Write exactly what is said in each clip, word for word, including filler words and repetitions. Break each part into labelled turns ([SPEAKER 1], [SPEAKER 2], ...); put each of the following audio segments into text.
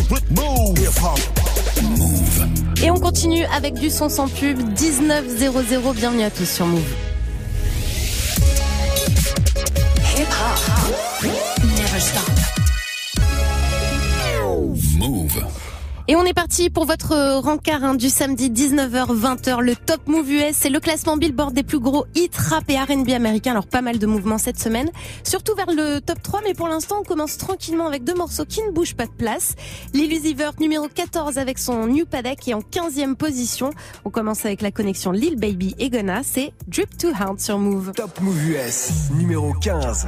[SPEAKER 1] Et on continue avec du son sans pub, dix-neuf zéro zéro, bienvenue à tous sur Move. Never stop. Move. Et on est parti pour votre rencard hein, du samedi dix-neuf heures vingt heures, le Top Move U S, c'est le classement Billboard des plus gros hits rap et R and B américains. Alors pas mal de mouvements cette semaine, surtout vers le top trois, mais pour l'instant on commence tranquillement avec deux morceaux qui ne bougent pas de place. Lil Uzi Vert numéro quatorze avec son New Paddock est en quinzième position. On commence avec la connexion Lil Baby et Gunna, c'est Drip Too Hard sur Move.
[SPEAKER 2] Top Move U S, numéro quinze.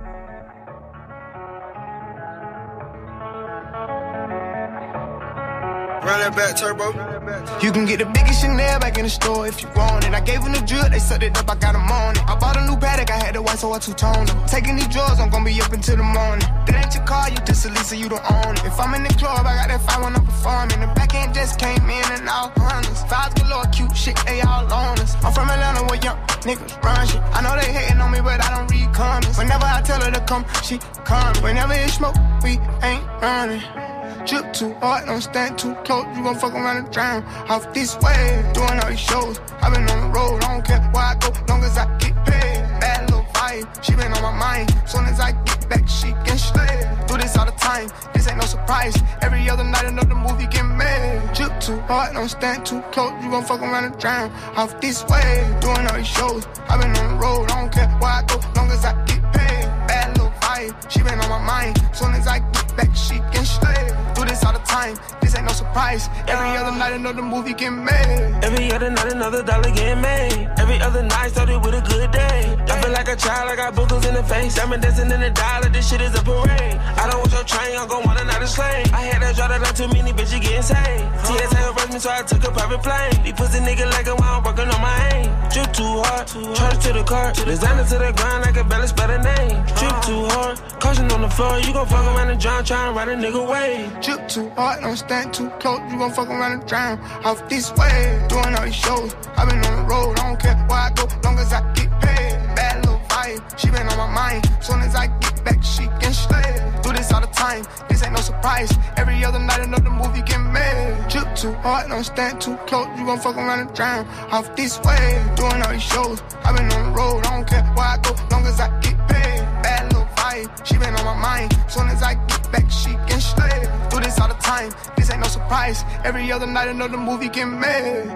[SPEAKER 3] Run that back, turbo. You can get the biggest Chanel back in the store if you want it. I gave them the drip, they sucked it up, I got them on it. I bought a new Paddock, I had the white, so I two-toned them. Taking these drugs, I'm gonna be up until the morning. That ain't your car, you just a Lisa, you don't own it. If I'm in the club, I got that five when I'm performing. The back end just came in and all hundreds. Fives galore, cute shit, they all on us. I'm from Atlanta where young niggas run shit. I know they hating on me, but I don't read comments. Whenever I tell her to come, she come. Whenever it's smoke, we ain't running. Drip too hard, don't stand too close. You gon' fuck around and drown. Off this way, doing all these shows. I been on the road, I don't care where I go, long as I get paid. Bad little vibe, she been on my mind. Soon as I get back, she can slay. Do this all the time, this ain't no surprise. Every other night, another movie get made. Drip too hard, don't stand too close. You gon' fuck around and drown. Off this way, doing all these shows. I been on the road, I don't care where I go, long as I get paid. Bad little vibe, she been on my mind. Soon as I get back, she can slay. Do this all the time, this ain't no surprise. Every other night another movie get made.
[SPEAKER 4] Every other night another dollar get made. Every other night started with a good day. I feel like a child, I got boogers in the face. Diamond dancing in the dollar, this shit is a parade. I don't want your train, I'm gon' want another slave. I had that draw that like too many bitches getting saved. T S A arrest me so I took a private plane. These pussy nigga like a while I'm working on my aim. Drip too hard, charge to the car. Designer to the grind, I can barely spell a name. Drip too hard, caution on the floor. You gon' fuck around and drown, trying to ride a nigga wave.
[SPEAKER 3] Drip too hard, don't stand too close. You gon' fuck around and drown. Off this way, doing all these shows. I been on the road, I don't care where I go, long as I get paid. Bad little vibe, she been on my mind. Soon as I get back, she can slay. Do this all the time, this ain't no surprise. Every other night another movie get made. Drip too hard, don't stand too close. You gon' fuck around and drown. Off this way, doing all these shows. I been on the road, I don't care where I go, long as I get paid. Bad little vibe, she been on my mind. Soon as I get back, she can slay. Do this all the time, this ain't no surprise. Every other night another movie get made.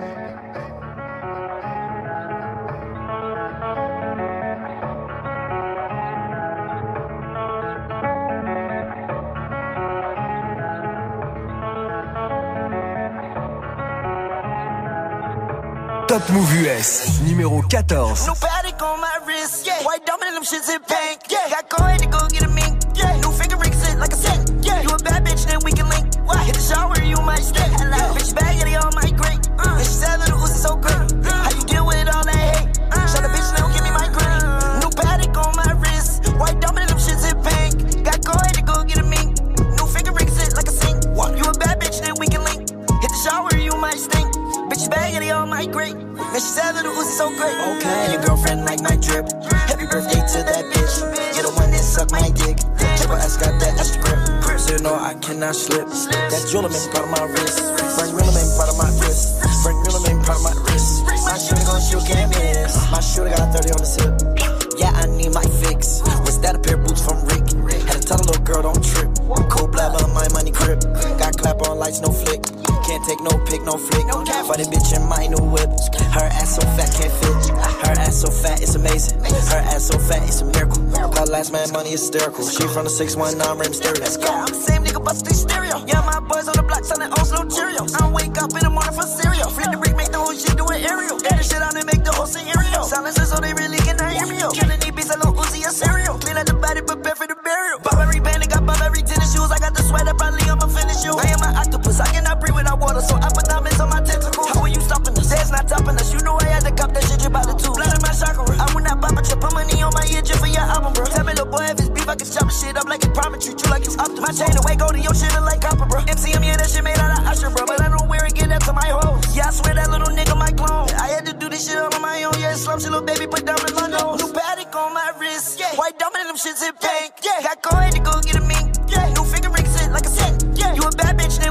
[SPEAKER 2] Top Move U S, numéro quatorze.
[SPEAKER 5] New Paddock on my wrist, yeah. White diamond in them shits in pink, yeah. Got coin to go get a mink, yeah. New finger ring sit like a set, yeah. You a bad bitch, then we can link. What? Hit the shower, you might stay. Yeah. Bitch bag, yeah, they all my great. Uh. And she said, little Uzi so great. Uh. How you deal with all that hate? Uh. Shut up, bitch, now give me my green. Uh. New Paddock on my wrist, white diamond in them shits in pink. Got coin to go get a mink. New finger ring sit like a sink. What? You a bad bitch, then we can link. Hit the shower, you might stink. Bitch bag, yeah, they all my great. Now she said little Uzi so great. Okay. And your girlfriend like my drip. Happy birthday to that bitch. You're the one that suck my dick. Triple S got that extra grip. So you know I cannot slip. That jeweler made part of my wrist. Frank Rilla made part of my wrist. Frank Rilla made part of my wrist. My shooter gon' shoot, can't miss. My shooter got thirty on the tip. Yeah, I need my fix. Was that a pair of boots from Rick? Had to tell a little girl don't trip. Cold blab on my money grip. Got clap on lights, no flick. Can't take no pic, no flick. For the bitch in my new whip. Her ass so fat, can't fit. Her ass so fat, it's amazing. Her ass so fat, it's a miracle. Her last man money is hysterical. She from the six one nine rim stereo. Let's go. Yeah, I'm the same nigga, bust they stereo. Yeah, my boys on the block selling old slow Cheerios. I wake up in the morning for cereal. Flip the brick, make the whole shit do an aerial. Get the shit out and make the whole scenario. Silences so they really cannot hear me. Killing these beats, I don't Uzi a cereal. Clean out the body, prepare for the burial. Burberry band, got Burberry tennis shoes. I got the sweater, probably I'ma finish you. I am an octopus, I cannot breathe without water, so I put diamonds on my tentacles. How are you stopping us? That's not topping us. You know I had to cop that shit, you about the two. Blood in my chakra. I would not pop a chip, put money on my ear just for your album, bro. Tell me, little boy, if it's beef, I can chop shit up like it's promise. Treat you like you Optimus. My chain away, go to your shit like copper, bro. M C M, yeah, that shit made out of Usher, bro. But I don't wear it, get that to my hoes. Yeah, I swear that little nigga my clone. I had to do this shit all on my own. Yeah, slump shit, little baby, put diamonds on my nose. New Paddock on my wrist, yeah. White diamond in them shits in pink, yeah. Got coin to go get a mink, yeah. New finger ring sit like a set, yeah. You a bad bitch, then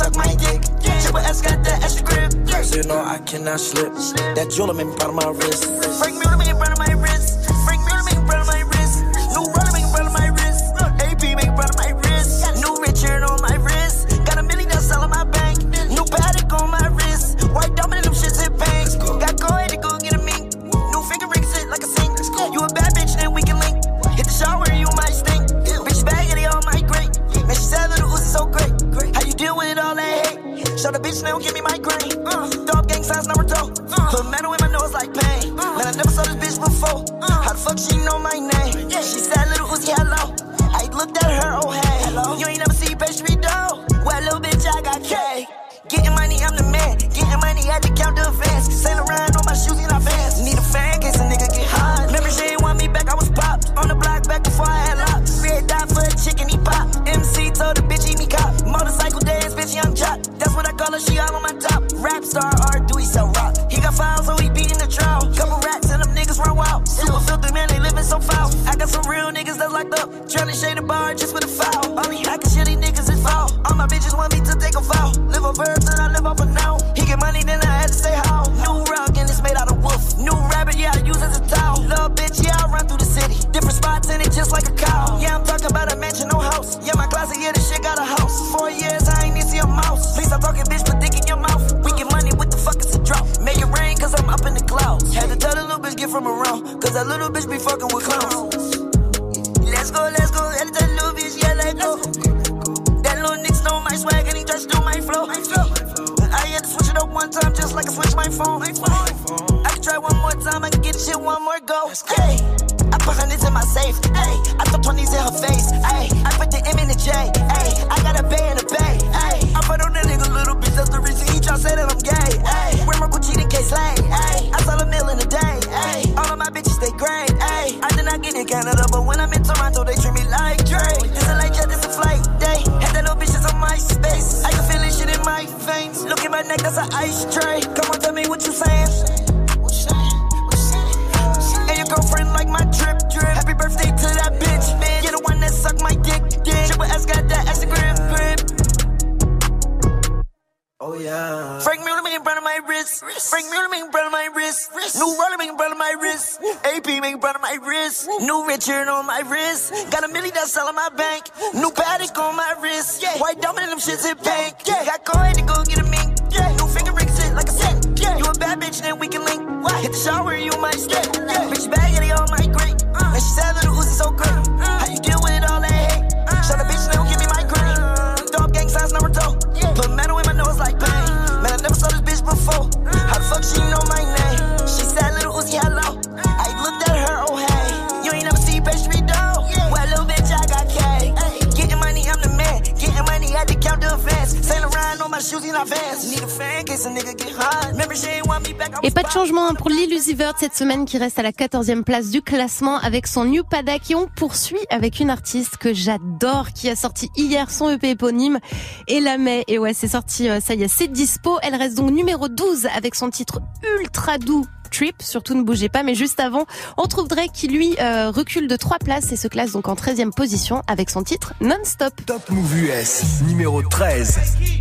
[SPEAKER 5] suck my dick. Triple S got that extra grip.
[SPEAKER 6] So you know I cannot slip. That jeweler make me proud of my wrist.
[SPEAKER 5] Frank Miller make me proud of my wrist. Frank Miller make me proud of my wrist. New Roller make me proud of my wrist. A P make me proud of my wrist. New Richard on my wrist. Got a million that's all on my bank. New Patek on my wrist. White diamond and them shits in pink. Got go ahead and go get a mink. New finger ring sit like a sink. You a bad bitch, then we can link. Hit the shower, you might stink. Bitch bag it, all my great. Man, she said that the Uzi so great. How you deal with all that hate? Show the bitch, they don't give me my grain. Uh, dog gang signs, number two. Uh, Put metal in my nose like pain. Uh, Man, I never saw this bitch before. Uh, How the fuck she know my name? Yeah. She said, little Uzi, hello. I looked at her, oh hey. Hello. You ain't never see pastry dough. Well, little bitch, I got K. Getting money, I'm the man. Getting money, had to count the advance. Sail around on my shoes in advance. Need a fan, case a nigga get hot. Remember, she ain't want me back, I was popped. On the block back before I had locks. Red dot for a chicken, he pop. M C told the bitch, eat me cop. Motorcycle dance, bitch, young jock. That's what I call her, she all on my top. Rap star, R, do he sell rock? He got files, so he beating the trial. Couple rats and them niggas run wild. Super filthy, man, they living so foul. I got some real niggas that's locked up. Trying to shade the bar just for the foul. Only I can shit these niggas is foul. All my bitches want me to take a foul. Live a verbs and I live off a now. He get money, then I had to say how. New rock and it's made out of wolf. New rabbit, yeah, I use as a towel. Little bitch, yeah, I run through the city. Different spots in it just like a cow. Yeah, I'm talking about a mansion, no house. Yeah, my closet, yeah, this shit got a house. Four years, I ain't even see a mouse. Please stop talking, bitch, put dick in your mouth. We get money, what the fuck is a drop? Make it rain, cause I'm up in the clouds. Had to tell the little bitch, get from around. Cause that little bitch be fucking with clowns. Let's go, let's go, had to tell the little bitch, yeah, let go. That little nigga know my swag and he tries to do my flow. I had to switch it up one time just like I switched my phone. I can try one more time, I can get shit one more go. Hey, I put hundreds in my safe. Hey, I throw twenties in her face. Hey, I put the M in the J. Hey, I got a bay in the bay. Hey, I put on that nigga little bitch, that's the reason he try to say that I'm gay. Hey, wear my Gucci in case lane. Hey, I sell a meal in a day. Hey, all of my bitches stay great. Hey, I did not get in Canada, but when I'm in Toronto, they treat me like Drake. This a light jet, this a flight day. Had that little bitch just on my space. I can feel this shit in my veins. Look at my neck, that's an ice tray. Come on, tell me what you saying. What you saying? What you saying? And your girlfriend like my drip drip. Happy birthday to that bitch, man. You're the one that suck my dick, dick. Triple S got that extra grip, grip.
[SPEAKER 6] Oh yeah.
[SPEAKER 5] Frank Miller making brown on my wrist. Frank Miller making brown on my wrist. New Roller making brown on my wrist. A P making brown on my wrist. New Richard on my wrist. Got a million that's all on my bank. New Patek on my wrist. White diamond and them shits in pink. Got go ahead and go get a mink. New finger ring sit like a sink. You a bad bitch, then we can link. Hit the shower, you might stink. Bitch bag it, all my great. Man, she said that the Uzi so great. How you deal with all that hate? Show the bitch, they don't give me my grain. Dog gang signs, number two. Put metal in my nose like pain. Man, I never saw this bitch before. How the fuck she know my name? She said, little Uzi, hello. I looked at her, oh hey. You ain't never see pastry dough. Well, little bitch, I got K. Getting money, I'm the man. Getting money, had to count the advance. Sail around on my shoes in advance. Need a fan, case a nigga get hot. Remember, she ain't want me back.
[SPEAKER 1] Et pas de changement pour Lil Uzi Vert cette semaine qui reste à la quatorzième place du classement avec son New Patek. Et on poursuit avec une artiste que j'adore qui a sorti hier son E P éponyme et la met. Et ouais, c'est sorti, ça y est, c'est dispo. Elle reste donc numéro douze avec son titre ultra doux. Trip, surtout ne bougez pas, mais juste avant, on trouve Drake qui lui euh, recule de trois places et se classe donc en treizième position avec son titre Non-Stop.
[SPEAKER 2] Top Move U S, numéro treize.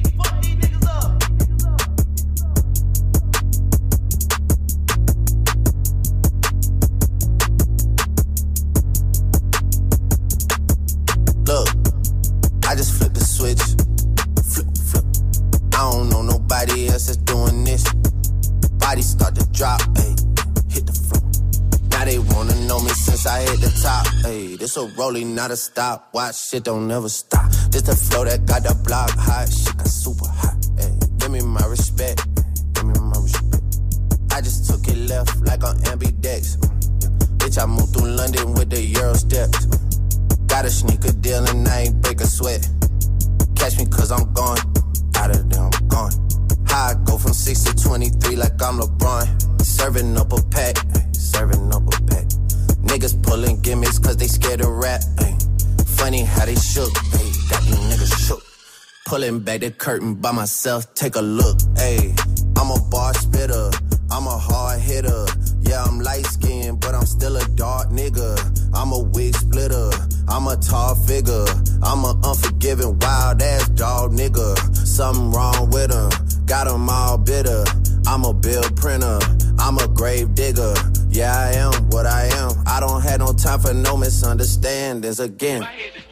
[SPEAKER 7] Look, I just flipped the switch. Flip, flip. I don't know nobody else that's doing this. Body start to drop, ayy, hit the floor. Now they wanna know me since I hit the top, ayy. This a rolling, not a stop. Watch, shit don't never stop. This the flow that got the block hot. Shit got super hot, ayy. Give me my respect, give me my respect. I just took it left like on ambidex. Bitch, I moved through London with the Euro steps. Got a sneaker deal and I ain't break a sweat. Catch me cause I'm gone, out of there I'm gone. I go from six to twenty-three like I'm LeBron. Serving up a pack, serving up a pack. Niggas pulling gimmicks cause they scared to rap. Ay. Funny how they shook, ay. Got these niggas shook. Pulling back the curtain by myself, take a look. Ay. I'm a bar spitter, I'm a hard hitter. Yeah, I'm light skinned, but I'm still a dark nigga. I'm a wig splitter, I'm a tall figure. I'm a unforgiving, wild ass dog nigga. Something wrong with him. Got him all bitter. I'm a bill printer. I'm a grave digger. Yeah, I am what I am. I don't have no time for no misunderstandings again.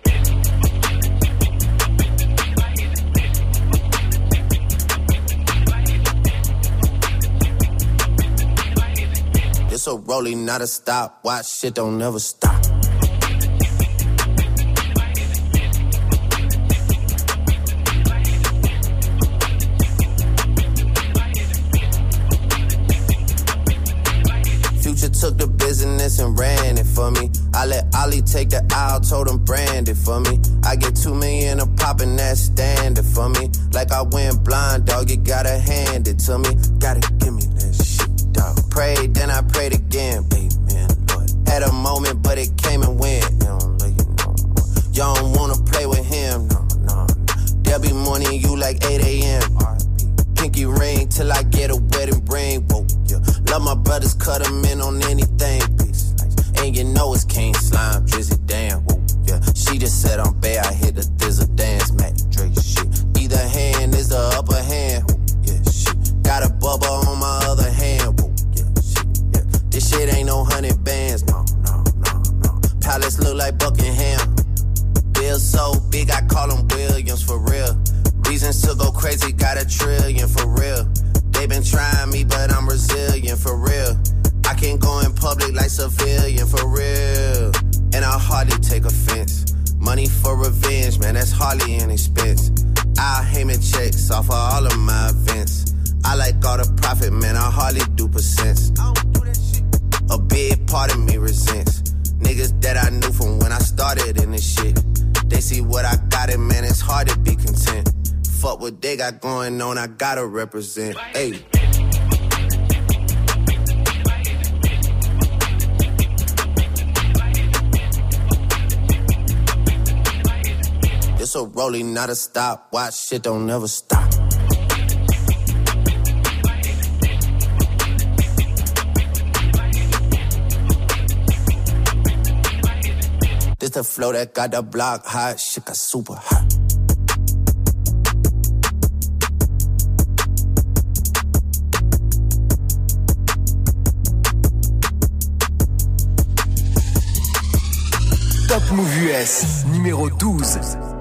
[SPEAKER 7] It's a rolling, not a stop. Watch shit don't never stop. Future took the business and ran it for me. I let Ollie take the aisle, told him brand it for me. I get two million a pop and that's standard for me. Like I went blind, dog, you gotta hand it to me. Gotta give me that shit, dog. Prayed, then I prayed again, baby, man, Lord. Had a moment, but it came and went. You don't let you know. You don't wanna play with him, no, no, no. There'll be morning you like eight a.m. Pinky ring till I get a wedding ring, whoa, yeah. Love my brothers, cut them in on anything, please. And you know it's King Slime, Drizzy, damn, whoa, yeah. She just said I'm bad, I hit the thizzle dance, Mac Dre, shit. Either hand is the upper hand, whoa, yeah, shit. Got a bubble on my other hand, whoa, yeah, shit, yeah. This shit ain't no hundred bands, no, no, no, no. Palace look like Buckingham. Bill so big, I call him Williams for real. Reasons to go crazy, got a trillion for real. They been trying me, but I'm resilient for real. I can't go in public like civilian for real. And I hardly take offense. Money for revenge, man, that's hardly an expense. I'll Heyman checks off of all of my events. I like all the profit, man, I hardly do percents. I don't do that shit. A big part of me resents niggas that I knew from when I started in this shit. They see what I got, and man, it's hard to be content. Fuck what they got going on, I gotta represent. Hey. It's a rolling, not a stop. Watch shit don't never stop. This the flow that got the block hot. Shit got super hot.
[SPEAKER 2] Top Move U S, numéro douze.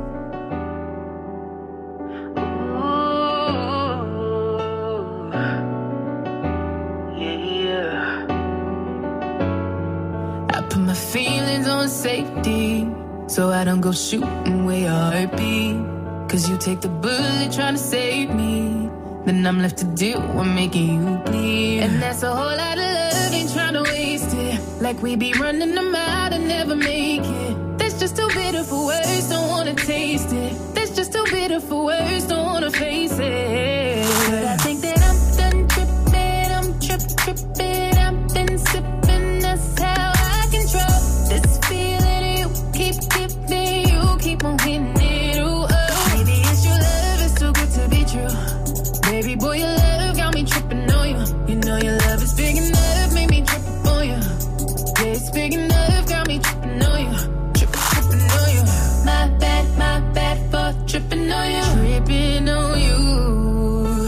[SPEAKER 8] Safety, so I don't go shooting where your heart beat. Cause you take the bullet trying to save me, then I'm left to deal with making you bleed. And that's a whole lot of love, ain't trying to waste it. Like we be running them out and never make it. That's just too bitter for words, don't wanna taste it. That's just too bitter for words, don't wanna face it. But I think that I'm done tripping, I'm trip tripping, I've been sipping, that's how I control this feeling you keep giving, you keep on hitting it, ooh, oh. Maybe it's your love, it's too good to be true. Baby boy, your love got me tripping on you. You know your love is big enough, make me trip on you. Yeah, it's big enough, got me tripping on you. Tripping, tripping on you. My bad, my bad for tripping on you. Tripping on you.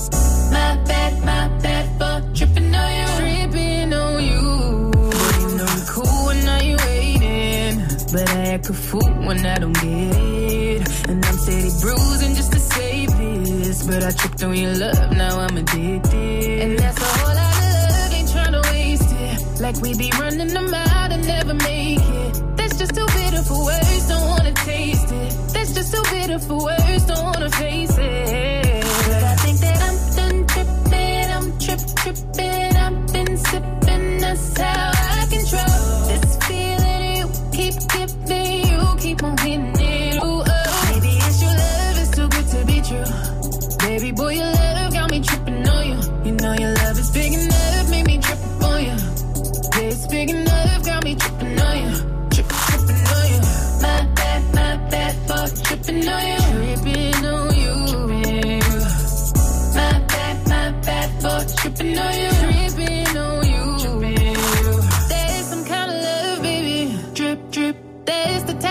[SPEAKER 8] My bad, my bad for tripping on you. Tripping on you. Boy, you know you cool when now you waiting, but I act a fool when I don't get it. And I'm steady bruising just to save this, but I tripped on your love, now I'm addicted. And that's a whole lot of love, ain't tryna waste it. Like we be running them out and never make it. That's just too bitter for words, don't wanna taste it. That's just too bitter for words, don't wanna face it. But I think that I'm done tripping, I'm trip tripping, I've been sipping, that's how I control this feeling you keep giving, you keep on hitting it, ooh, oh. Maybe it's your love, it's too good to be true. Baby boy, your love got me tripping on you. You know your love is big enough, make me trip on you. Yeah, it's big enough, got me tripping on you. Tripping, tripping on you. My bad, my bad for tripping on you. Tripping on you. My bad, my bad for tripping on you. Tripping on you. There's some kind of love, baby. Drip, drip. There's the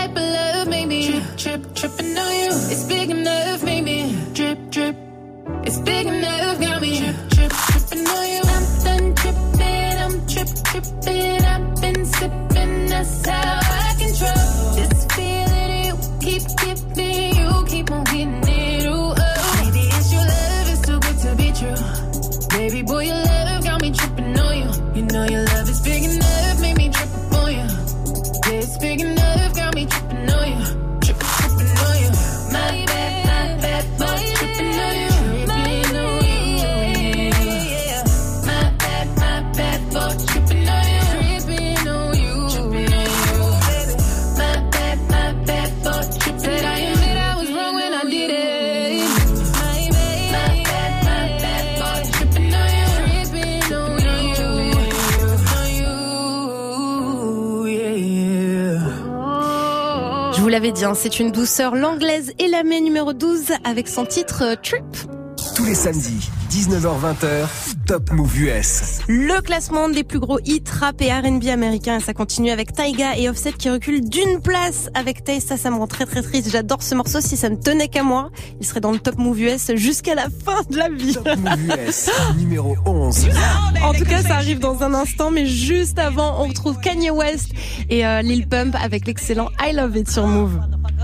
[SPEAKER 1] l'avez dit, hein, c'est une douceur. L'anglaise Elamé numéro douze avec son titre euh, Trip.
[SPEAKER 2] Tous les samedis, dix-neuf heures vingt, Top Move U S.
[SPEAKER 1] Le classement des plus gros hits rap et R and B américains. Et ça continue avec Tyga et Offset qui reculent d'une place avec Taste. Ça, ça me rend très très triste. J'adore ce morceau. Si ça ne tenait qu'à moi, il serait dans le Top Move U S jusqu'à la fin de la vie.
[SPEAKER 2] Top Move U S, numéro onze.
[SPEAKER 1] En tout cas, ça arrive dans un instant. Mais juste avant, on retrouve Kanye West et euh, Lil Pump avec l'excellent I Love It sur Move.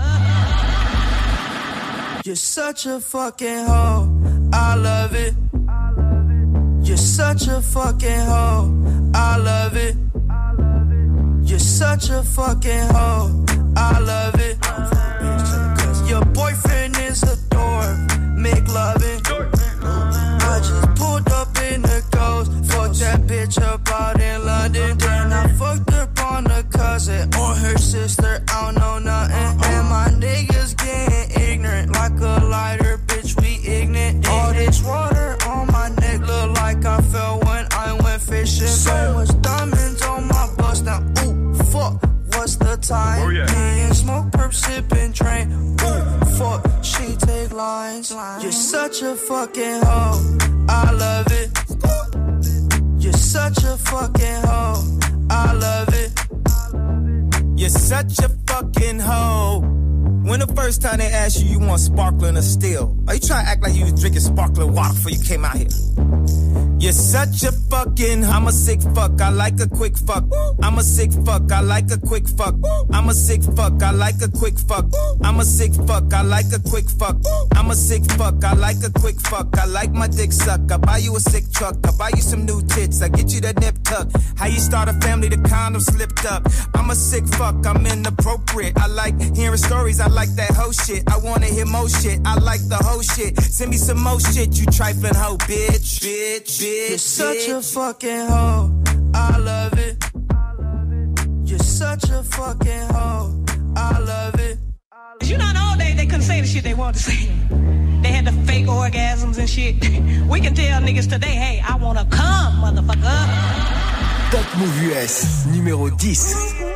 [SPEAKER 9] You're such a fucking hoe, I love it. You're such a fucking hoe, I love it. You're such a fucking hoe, I love it. Your boyfriend is a dork, make loving. I just pulled up in the ghost, fucked that bitch up out in London. Then I fucked up on a cousin or her sister, I don't know nothing. And my niggas getting ignorant like a lighter, bitch, we ignorant. All this water on my neck look like I fell when I went fishing. So much diamonds on my bust now, ooh, fuck, what's the time? Oh, yeah. Me and smoke, perp, sippin', train, ooh, fuck, she take lines. You're such a fucking hoe, I love it. You're such a fucking hoe, I love it.
[SPEAKER 10] You're such a fucking hoe. When the first time they asked you, you want sparkling or still? Are you trying to act like you was drinking sparkling water before you came out here? You're such a fucking, I'm a sick fuck, I like a quick fuck. I'm a sick fuck, I like a quick fuck. I'm a sick fuck, I like a quick fuck. I'm a sick fuck, I like a quick fuck. I'm a sick fuck, I like a quick fuck. I like my dick suck, I buy you a sick truck. I buy you some new tits, I get you that nip tuck. How you start a family, the condom slipped up. I'm a sick fuck, I'm inappropriate. I like hearing stories, I like that hoe shit. I wanna hear more shit, I like the whole shit. Send me some more shit, you trifling hoe, bitch, bitch, bitch.
[SPEAKER 9] You're such a fucking hoe, I love it. You're such a fucking hoe, I love it.
[SPEAKER 11] You know, in the old days they couldn't say the shit they wanted to say. They had the fake orgasms and shit. We can tell niggas today, hey, I wanna come, motherfucker.
[SPEAKER 2] Top Move U S, numéro dix.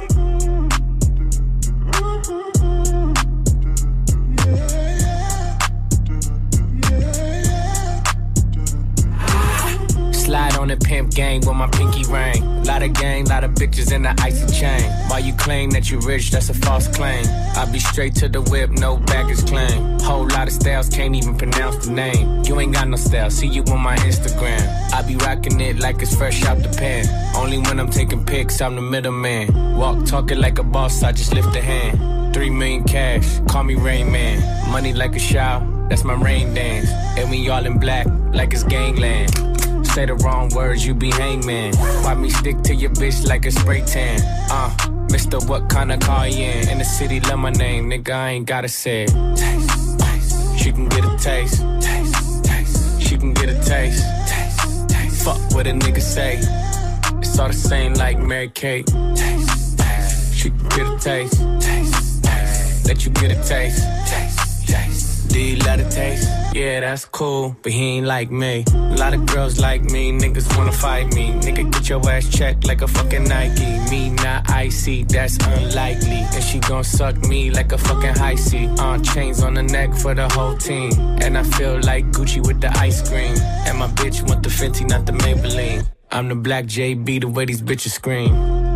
[SPEAKER 12] Slide on the pimp gang with my pinky ring. Lot of gang, lot of bitches in the icy chain. While you claim that you rich, that's a false claim. I be straight to the whip, no baggage claim. Whole lot of styles, can't even pronounce the name. You ain't got no style, see you on my Instagram. I be rocking it like it's fresh out the pan. Only when I'm taking pics, I'm the middleman. Walk talking like a boss, I just lift a hand. Three million cash, call me Rain Man. Money like a shower, that's my rain dance. And we all in black, like it's gangland. Say the wrong words, you be hangman. Why me stick to your bitch like a spray tan? Uh, Mister What kind of car you in? In the city, love my name, nigga, I ain't gotta say it. Taste, taste. She can get a taste. Taste, taste. She can get a taste. Taste, taste. Fuck what a nigga say. It's all the same like Mary Kate. Taste, taste. She can get a taste. Taste, taste. Let you get a taste. Taste, taste. Do you love the taste? Yeah, that's cool, but he ain't like me. A lot of girls like me, niggas wanna fight me. Nigga, get your ass checked like a fucking Nike. Me not icy, that's unlikely. And she gon' suck me like a fucking high C. On uh, chains on the neck for the whole team. And I feel like Gucci with the ice cream. And my bitch want the Fenty, not the Maybelline. I'm the black J B, the way these bitches scream.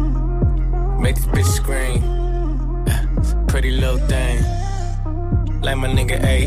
[SPEAKER 12] Make these bitches scream. Pretty little thing. Like my nigga A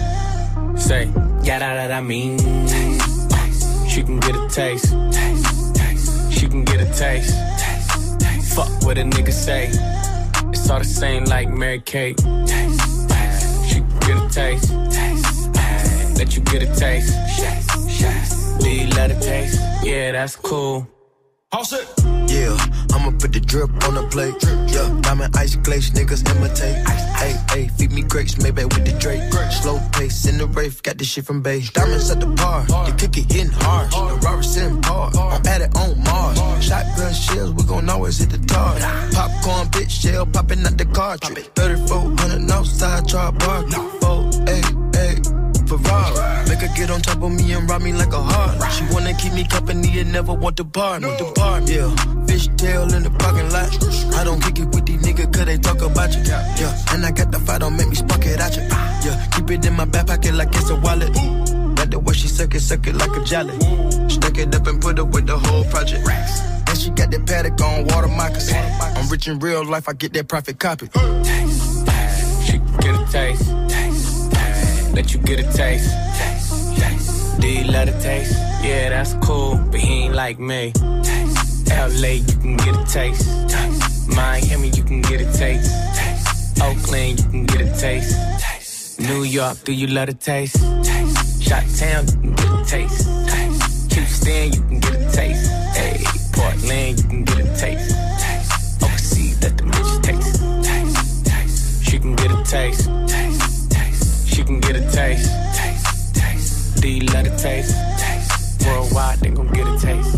[SPEAKER 12] E. Say, yeah, that, that I mean. Taste, taste. She can get a taste. Taste, taste. She can get a taste. Taste, taste. Fuck what a nigga say. It's all the same like Mary Kate. Taste, taste. She can get a taste. Taste, taste. Let you get a taste. Taste, taste. Do you love the taste? Yeah, that's cool.
[SPEAKER 9] All set. Yeah, I'ma put the drip on the plate. Yeah, diamond ice glaze, niggas imitate. Hey, hey, feed me grapes, maybe with the Drake. Slow pace in the rave, got this shit from base. Diamonds at the bar, you kick it in hard. The Robert sitting hard, I'm at it on Mars. Shotgun shells, we gon' always hit the target. Popcorn, bitch, shell popping out the cartridge. thirty-four hundred outside, try bar. Oh, hey, hey. Ferrari. Make her get on top of me and rob me like a heart. She wanna keep me company and never want to bar me. The bar, yeah.
[SPEAKER 10] fishtail in the parking lot. I don't kick it with these niggas cause they talk about you. Yeah, and I got the fight, don't make me spark it at you. Yeah, keep it in my back pocket like it's a wallet. Like the way she suck it, suck it like a jelly. Stuck it up and put up with the whole project. And she got that paddock on water moccasins. I'm rich in real life, I get that profit copy.
[SPEAKER 12] Taste, taste. She can get a taste. Taste, taste. Let you get a taste. Taste, taste. Do you love the taste? Yeah, that's cool, but he ain't like me. Taste, L A, you can get a taste. Taste. Miami, you can get a taste. Taste. Oakland, you can get a taste. Taste. New York, do you love the taste? Taste. Chi-town, you can get a taste. Taste. Houston, you can get a taste. Hey, Portland, you can get a taste. Taste. Overseas, let them bitches taste. Taste. Taste. She can get a taste. Taste. Taste. She can get a taste. Taste. Taste. Do you love the taste? Taste. Worldwide, they gon' get a taste.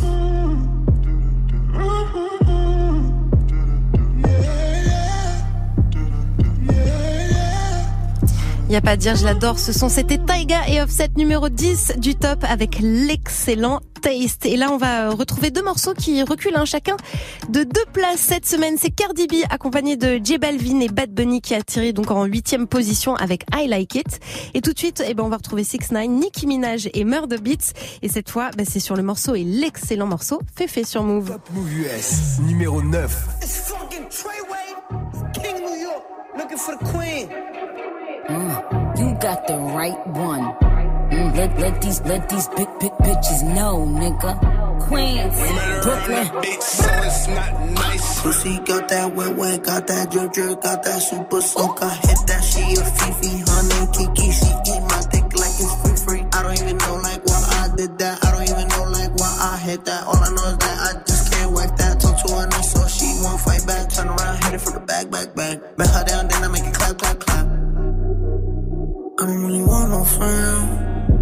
[SPEAKER 1] Y a pas à dire, je l'adore. Ce son, c'était Taiga et Offset numéro dix du top avec l'excellent Taste. Et là, on va retrouver deux morceaux qui reculent hein, chacun de deux places cette semaine. C'est Cardi B accompagné de J Balvin et Bad Bunny qui a tiré donc en huitième position avec I Like It. Et tout de suite, eh ben, on va retrouver six ix, Nicki Minaj et Murder Beats. Et cette fois, ben, c'est sur le morceau et l'excellent morceau Féfé sur Move.
[SPEAKER 2] Top Move U S numéro neuf.
[SPEAKER 13] It's fucking Treyway, King New York, looking for the queen.
[SPEAKER 14] Mm, you got the right one. Mm, let, let these let these big big bitches know, nigga. Queens, Brooklyn.
[SPEAKER 13] Bitch, so it's not nice. Pussy got that wet wet, got that drip drip, got that super soak. I hit that, she a Fifi, honey Kiki. She eat my dick like it's free free. I don't even know like why I did that. I don't even know like why I hit that. All I know is that I just can't wipe that. Talk to her nice so she won't fight back. Turn around, hit it from the back, back, back. Bet her down, then I make it clap, clap, clap. I don't really want no friends.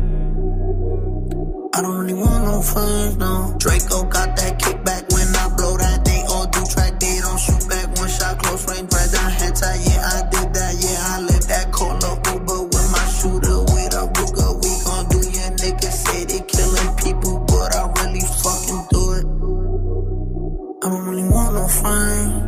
[SPEAKER 13] I don't really want no friends, no. Draco got that kickback when I blow that. They all do track, they don't shoot back. One shot, close range, right down head tight. Yeah, I did that, yeah, I lived that. Call up Uber with my shooter, with a Ruger. We gon' do your niggas say they killing people, but I really fucking do it. I don't really want no friends.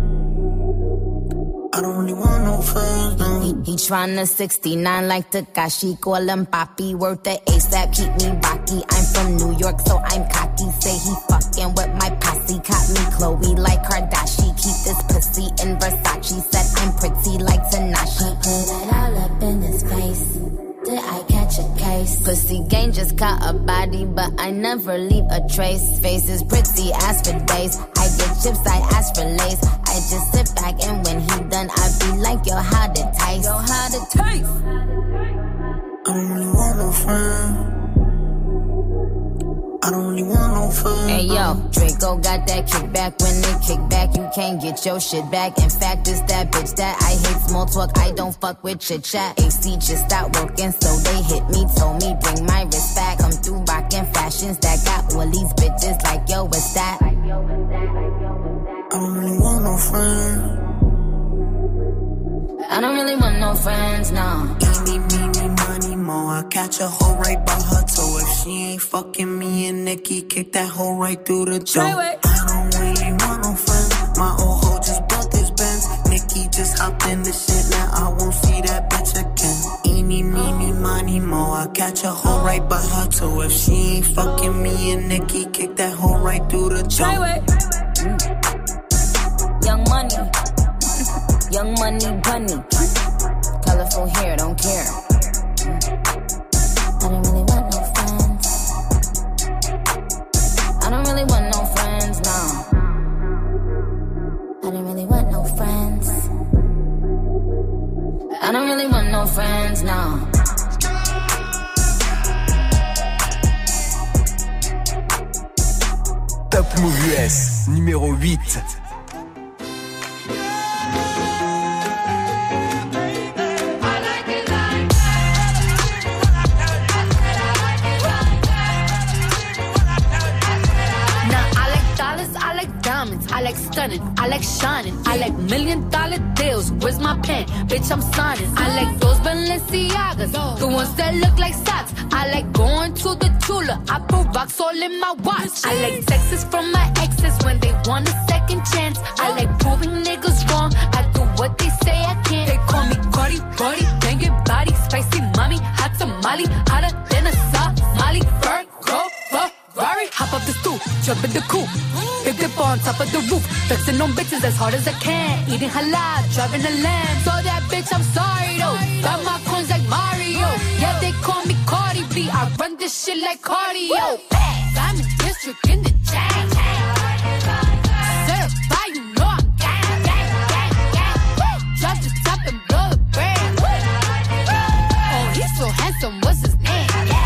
[SPEAKER 13] I don't really want no friends, no.
[SPEAKER 14] He, he tryna sixty-nine like Takashi, call him Papi, worth the ASAP, keep me rocky. I'm from New York, so I'm cocky. Say he fucking with my posse, caught me Chloe like Kardashian. Keep this pussy in Versace, said I'm pretty like Tanashi. Put it all up in his face. Did I catch a case? Pussy gang just caught a body, but I never leave a trace. Face is pretty, ass for days. I get chips, I ask for lace. I just sit back and when he done, I be like, yo, how to taste? Yo, how to taste?
[SPEAKER 13] I don't really want no friends. I don't really want no friends.
[SPEAKER 14] Hey yo, Draco got that kickback. When they kick back, you can't get your shit back. In fact, it's that bitch that I hate small talk. I don't fuck with chit chat. A C just stopped working, so they hit me. Told me bring my wrist back. Come through rockin' fashions that got all these bitches like yo, what's that?
[SPEAKER 13] I don't really want no friends.
[SPEAKER 14] I don't really want no friends, no.
[SPEAKER 13] Eeny, meeny, money, mo. I catch a hoe right by her toe. If she ain't fucking me and Nicki, kick that hoe right through the door. I don't really want no friends. My old hoe just bought this Benz. Nicki just hopped in the shit, now I won't see that bitch again. Eeny, meeny, money, mo. I catch a hoe right by her toe. If she ain't fucking me and Nicki, kick that hoe right through the door.
[SPEAKER 14] Mm. Young money. Young money bunny, colorful hair, don't care. I don't really want no friends. I don't really want no friends, no. I don't really want no friends. I don't really want no friends, no.
[SPEAKER 2] Top Move U S, numéro huit.
[SPEAKER 15] I like
[SPEAKER 8] like stunning, I like shining, I like million dollar deals. Where's my pen? Bitch, I'm signing. I like those Balenciagas, the ones that look like socks. I like going to the Tula, I put rocks all in my watch. I like texts from my exes when they want a second chance. I like proving niggas wrong, I do what they say I can't. They call me Cardi, Cardi, banging body, spicy mommy, hot tamale, hotter than a Somali. Virgo, Ferrari, hop up the stoop, jump in the coupe, big dip on top of the roof, flexing on bitches as hard as I can, eating halal, driving a lamb. So that bitch, I'm sorry though, got my coins like Mario. Yeah, they call me Cardi B, I run this shit like cardio. Diamond district in the chain. Certified, you know I'm gang, gang, gang, gang. Drop the top and blow the brand. Oh, he's so handsome, what's his name?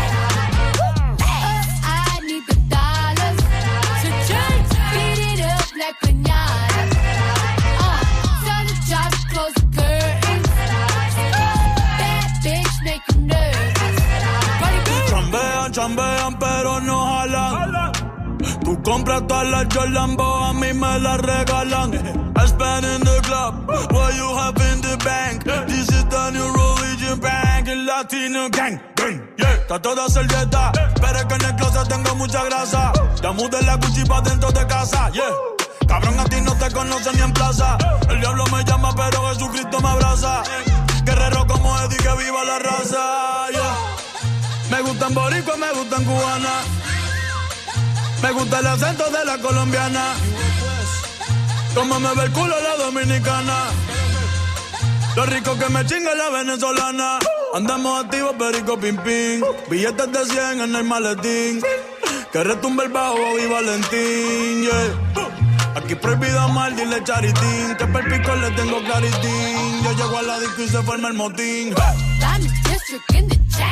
[SPEAKER 8] I need the dollars to change, beat it up like pinata. Uh, tell the job to close the curtains. That bitch make you nervous.
[SPEAKER 15] Chambean, chambean, pero no jalan. Tú compras todas las Jolambo, a mí me las regalan. I spend in the club, what you have in the bank. This is the new religion bank, el Latino gang. Yeah, está toda servieta, pero es que en el closet tengo mucha grasa. Ya mudé la Gucci pa' dentro de casa, yeah. Cabrón, a ti no te conocen ni en plaza. El diablo me llama, pero Jesucristo me abraza. Guerrero como Eddie, que viva la raza, yeah. Me gustan boricua, me gustan cubana. Me gusta el acento de la colombiana. Como me ve el culo la dominicana. Lo rico que me chinga la venezolana. Andamos activos, perico, pim, pim. Billetes de cien en el maletín. Que retumbe el bajo y Valentín, yeah. Aquí prohibido amar, dile charitín. Que per pico le tengo claritín. Yo llego a la disco y se forma el motín.
[SPEAKER 8] Diamond district in the chain.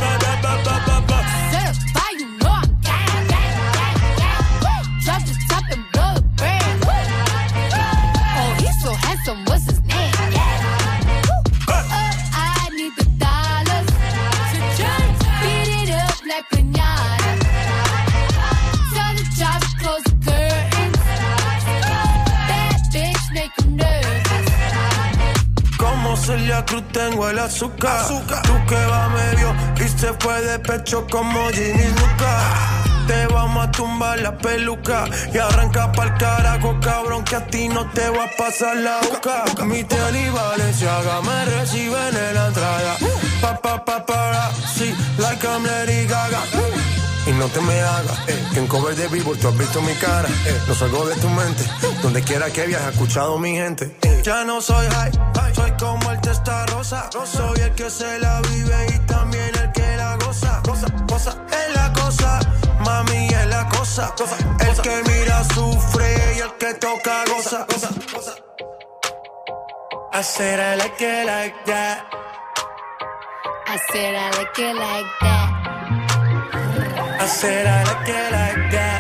[SPEAKER 8] Certified, you know I'm gang, gang, gang, gang. Drop the top and blow the brand. Oh, he's so handsome, what's his name? Uh, I need the dollars to change, beat it up like pinata. Tell the job to close the curtains. That bitch make you nervous.
[SPEAKER 9] Como Celia Cruz tengo el azúcar. azúcar. Tú que va medio y se fue de pecho como Ginny Luca. Te vamos a tumbar la peluca y arranca pa'l carajo, cabrón, que a ti no te va a pasar la boca. Mi tenis Balenciaga me reciben en la entrada. Pa, pa, pa, para, sí, like I'm Lady Gaga. Y no te me hagas, eh, que en cover de Billboard tú has visto mi cara, eh, no salgo de tu mente, donde quiera que viajes, escuchado mi gente, eh. Ya no soy high, soy como el testa rosa, soy el que se la vive y también el que la goza, goza, goza, es la cosa, mami es la cosa, cosa, el que mira sufre y el que toca goza, goza, goza. I said I like it like that.
[SPEAKER 8] I said I like it like that.
[SPEAKER 9] I said I like it like that.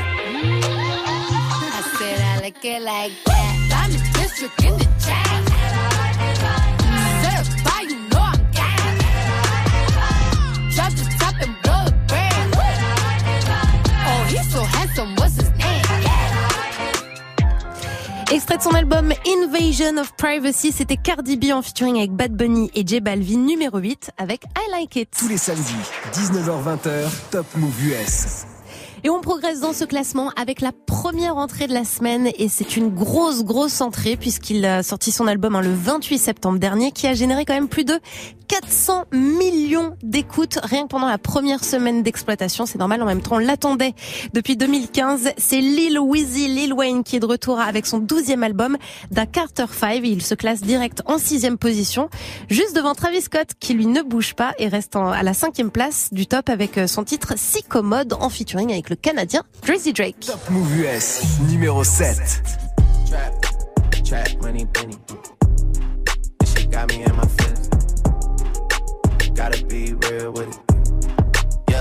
[SPEAKER 8] I said I like it like that. Diamond district in the chain. Certified, you know I'm gang. Drop the top and blow the brand. Oh, he's so handsome, what's his name?
[SPEAKER 1] Extrait de son album Invasion of Privacy, c'était Cardi B en featuring avec Bad Bunny et J Balvin, numéro huit avec I Like It.
[SPEAKER 2] Tous les samedis, dix-neuf heures vingt, Top Move U S.
[SPEAKER 1] Et on progresse dans ce classement avec la première entrée de la semaine et c'est une grosse grosse entrée puisqu'il a sorti son album hein, le vingt-huit septembre dernier qui a généré quand même plus de quatre cents millions d'écoutes rien que pendant la première semaine d'exploitation. C'est normal, en même temps on l'attendait depuis deux mille quinze. C'est Lil Weezy, Lil Wayne qui est de retour avec son douzième album Da Carter cinq et il se classe direct en sixième position, juste devant Travis Scott qui lui ne bouge pas et reste en, à la cinquième place du top avec son titre Si Commode en featuring avec le Canadien Drizzy Drake.
[SPEAKER 2] Top Move U S, numéro sept.
[SPEAKER 16] Trap, trap, money, penny. This shit got me in my feelings. Gotta be real with it. Yeah.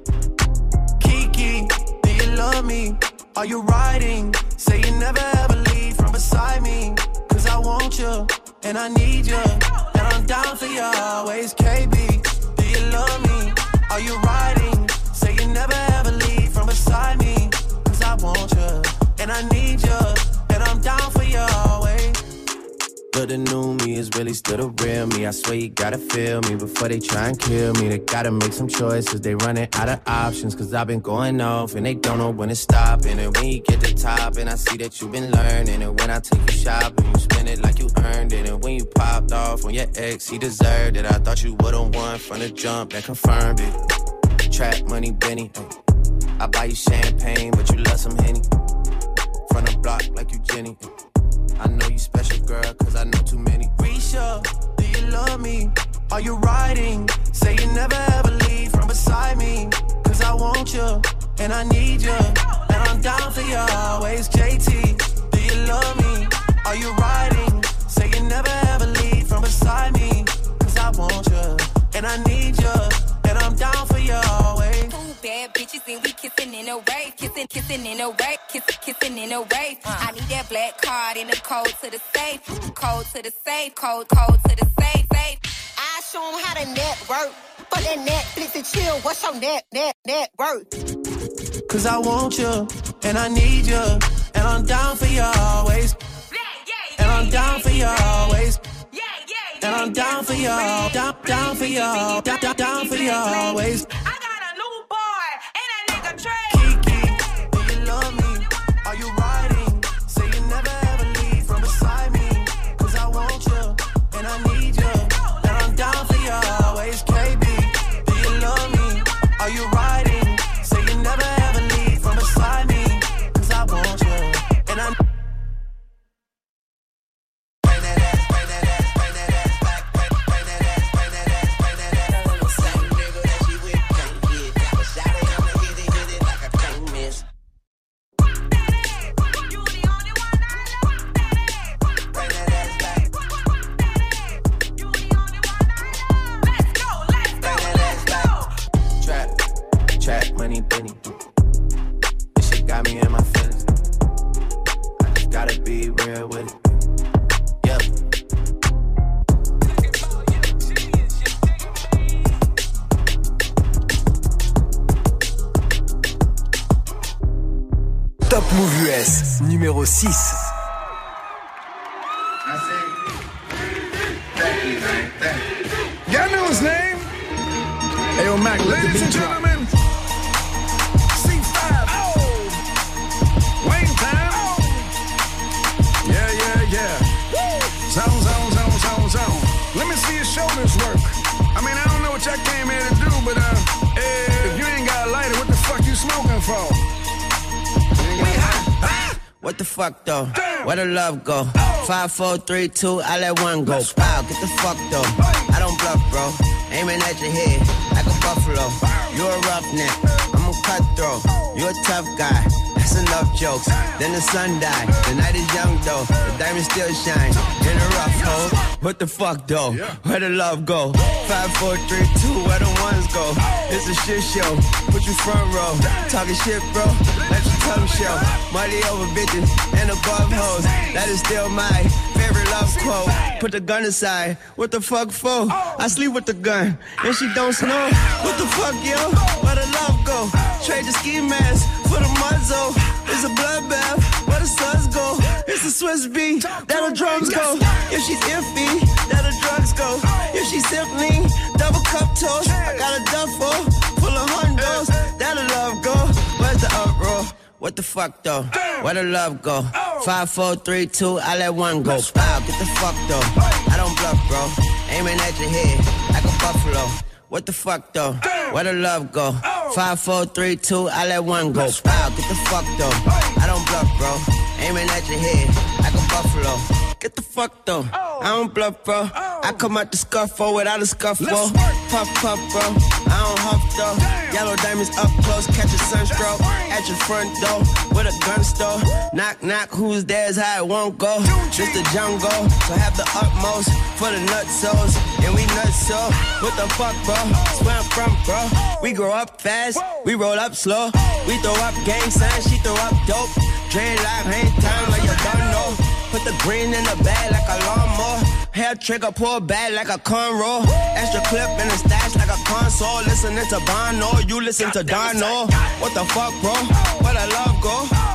[SPEAKER 16] Kiki, do you love me? Are you riding? Say you never ever leave from beside me. Cause I want you, and I need you. And I'm down for you always, K B. Do you love me? Are you riding? Say you never ever leave from beside me. Cause I want you, and I need you. And I'm
[SPEAKER 7] Look, the new me is really still the real me. I swear you gotta feel me before they try and kill me. They gotta make some choices, they running out of options. Cause I've been going off and they don't know when to stop. And when you get to top and I see that you've been learning. And when I take you shopping, you spend it like you earned it. And when you popped off on your ex, he deserved it. I thought you would've won from the jump, that confirmed it. Trap money, Benny. I buy you champagne, but you love some Henny. From the block like you Jenny. I know you special, girl, cause I know too many.
[SPEAKER 16] Risha, do you love me? Are you riding? Say you never ever leave from beside me. Cause I want you, and I need you. And I'm down for you always, J T. Do you love me? Are you riding? Say you never ever leave from beside me. Cause I want you, and I need you. And I'm down for you always.
[SPEAKER 17] Two bad bitches and we kissing in a rave. Kissing, kissing in a rave. Kissing, kissing in a rave. Uh. I need that black card in the code to the safe. Code to the safe. Code, code to the safe. Safe.
[SPEAKER 18] I show them how to network. For that Netflix and chill. What's your net, net, net worth?
[SPEAKER 16] Cause I want you, and I need you. And I'm down for you always. And I'm down for you always. And I'm down for y'all, down, down for y'all, down, down, down for y'all always.
[SPEAKER 11] I got a new boy, and that nigga Trey.
[SPEAKER 16] Kiki, do you love me? Are you riding? Say you never ever leave from beside me. Cause I want you, and I need you. And I'm down for you always. K B, do you love me? Are you riding? Say you never ever leave from beside me. Cause I want you, and I
[SPEAKER 7] money, Benny. This shit got me in my feelings. I just gotta be real with it. Yep.
[SPEAKER 2] Top Move U S, numéro six.
[SPEAKER 19] Y'all know his name? Hey, yo, Mac, let the beat drop. Zone, zone, zone, zone, zone. Let me see your shoulders work. I mean, I don't know what y'all came here to do, but uh, if you ain't got a lighter, what the fuck you smoking for?
[SPEAKER 6] What the fuck though? Where the love go? Five, four, three, two, I let one go. Wow, get the fuck though. I don't bluff, bro. Aiming at your head like a buffalo. You a roughneck, I'm a cutthroat. You a tough guy. That's enough jokes. Then the sun died. The night is young though. The diamonds still shine in a rough hole. What the fuck though? Where the love go? Five, four, three, two. Where the ones go? It's a shit show. Put you front row. Talking shit, bro. Let your tongue show. Money over bitches and above hoes. That is still my favorite love quote. Put the gun aside. What the fuck for? I sleep with the gun and she don't snow. What the fuck, yo? Where the love go? Trade the ski mask for the muzzle. It's a bloodbath. Where the suns go? It's a Swiss beat. That the drums go. If she's iffy, that the drugs go. If she's simply double cup toast, I got a duffel full of hundos. That the love go. Where's the uproar? What the fuck though? Where the love go? Five, four, three, two, I let one go. Wow, get the fuck though. I don't bluff, bro. Aiming at your head like a buffalo. What the fuck though? Where the love go? Five, four, three, two, I let one go. Wow, get the fuck though. I don't bluff, bro. Aiming at your head like a buffalo. Get the fuck though. I don't bluff, bro. I come out the scuffle without a scuffle. Puff, puff, bro. I don't huff though. Yellow diamonds up close, catch a sunstroke. At your front door with a gun store. Knock, knock, who's there's how it won't go. Just the jungle, so have the utmost for the nutsos. And we nuts so. What the fuck, bro? That's where I'm from, bro. We grow up fast, we roll up slow. We throw up gang signs, she throw up dope. Dreadlock, hang time like you don't know. Put the green in the bag like a lawnmower. Hair trigger, pull back like a cornrow. Extra clip in the stash like a console. Listening to Bono, you listen to Dono. What the fuck, bro? Where the love go?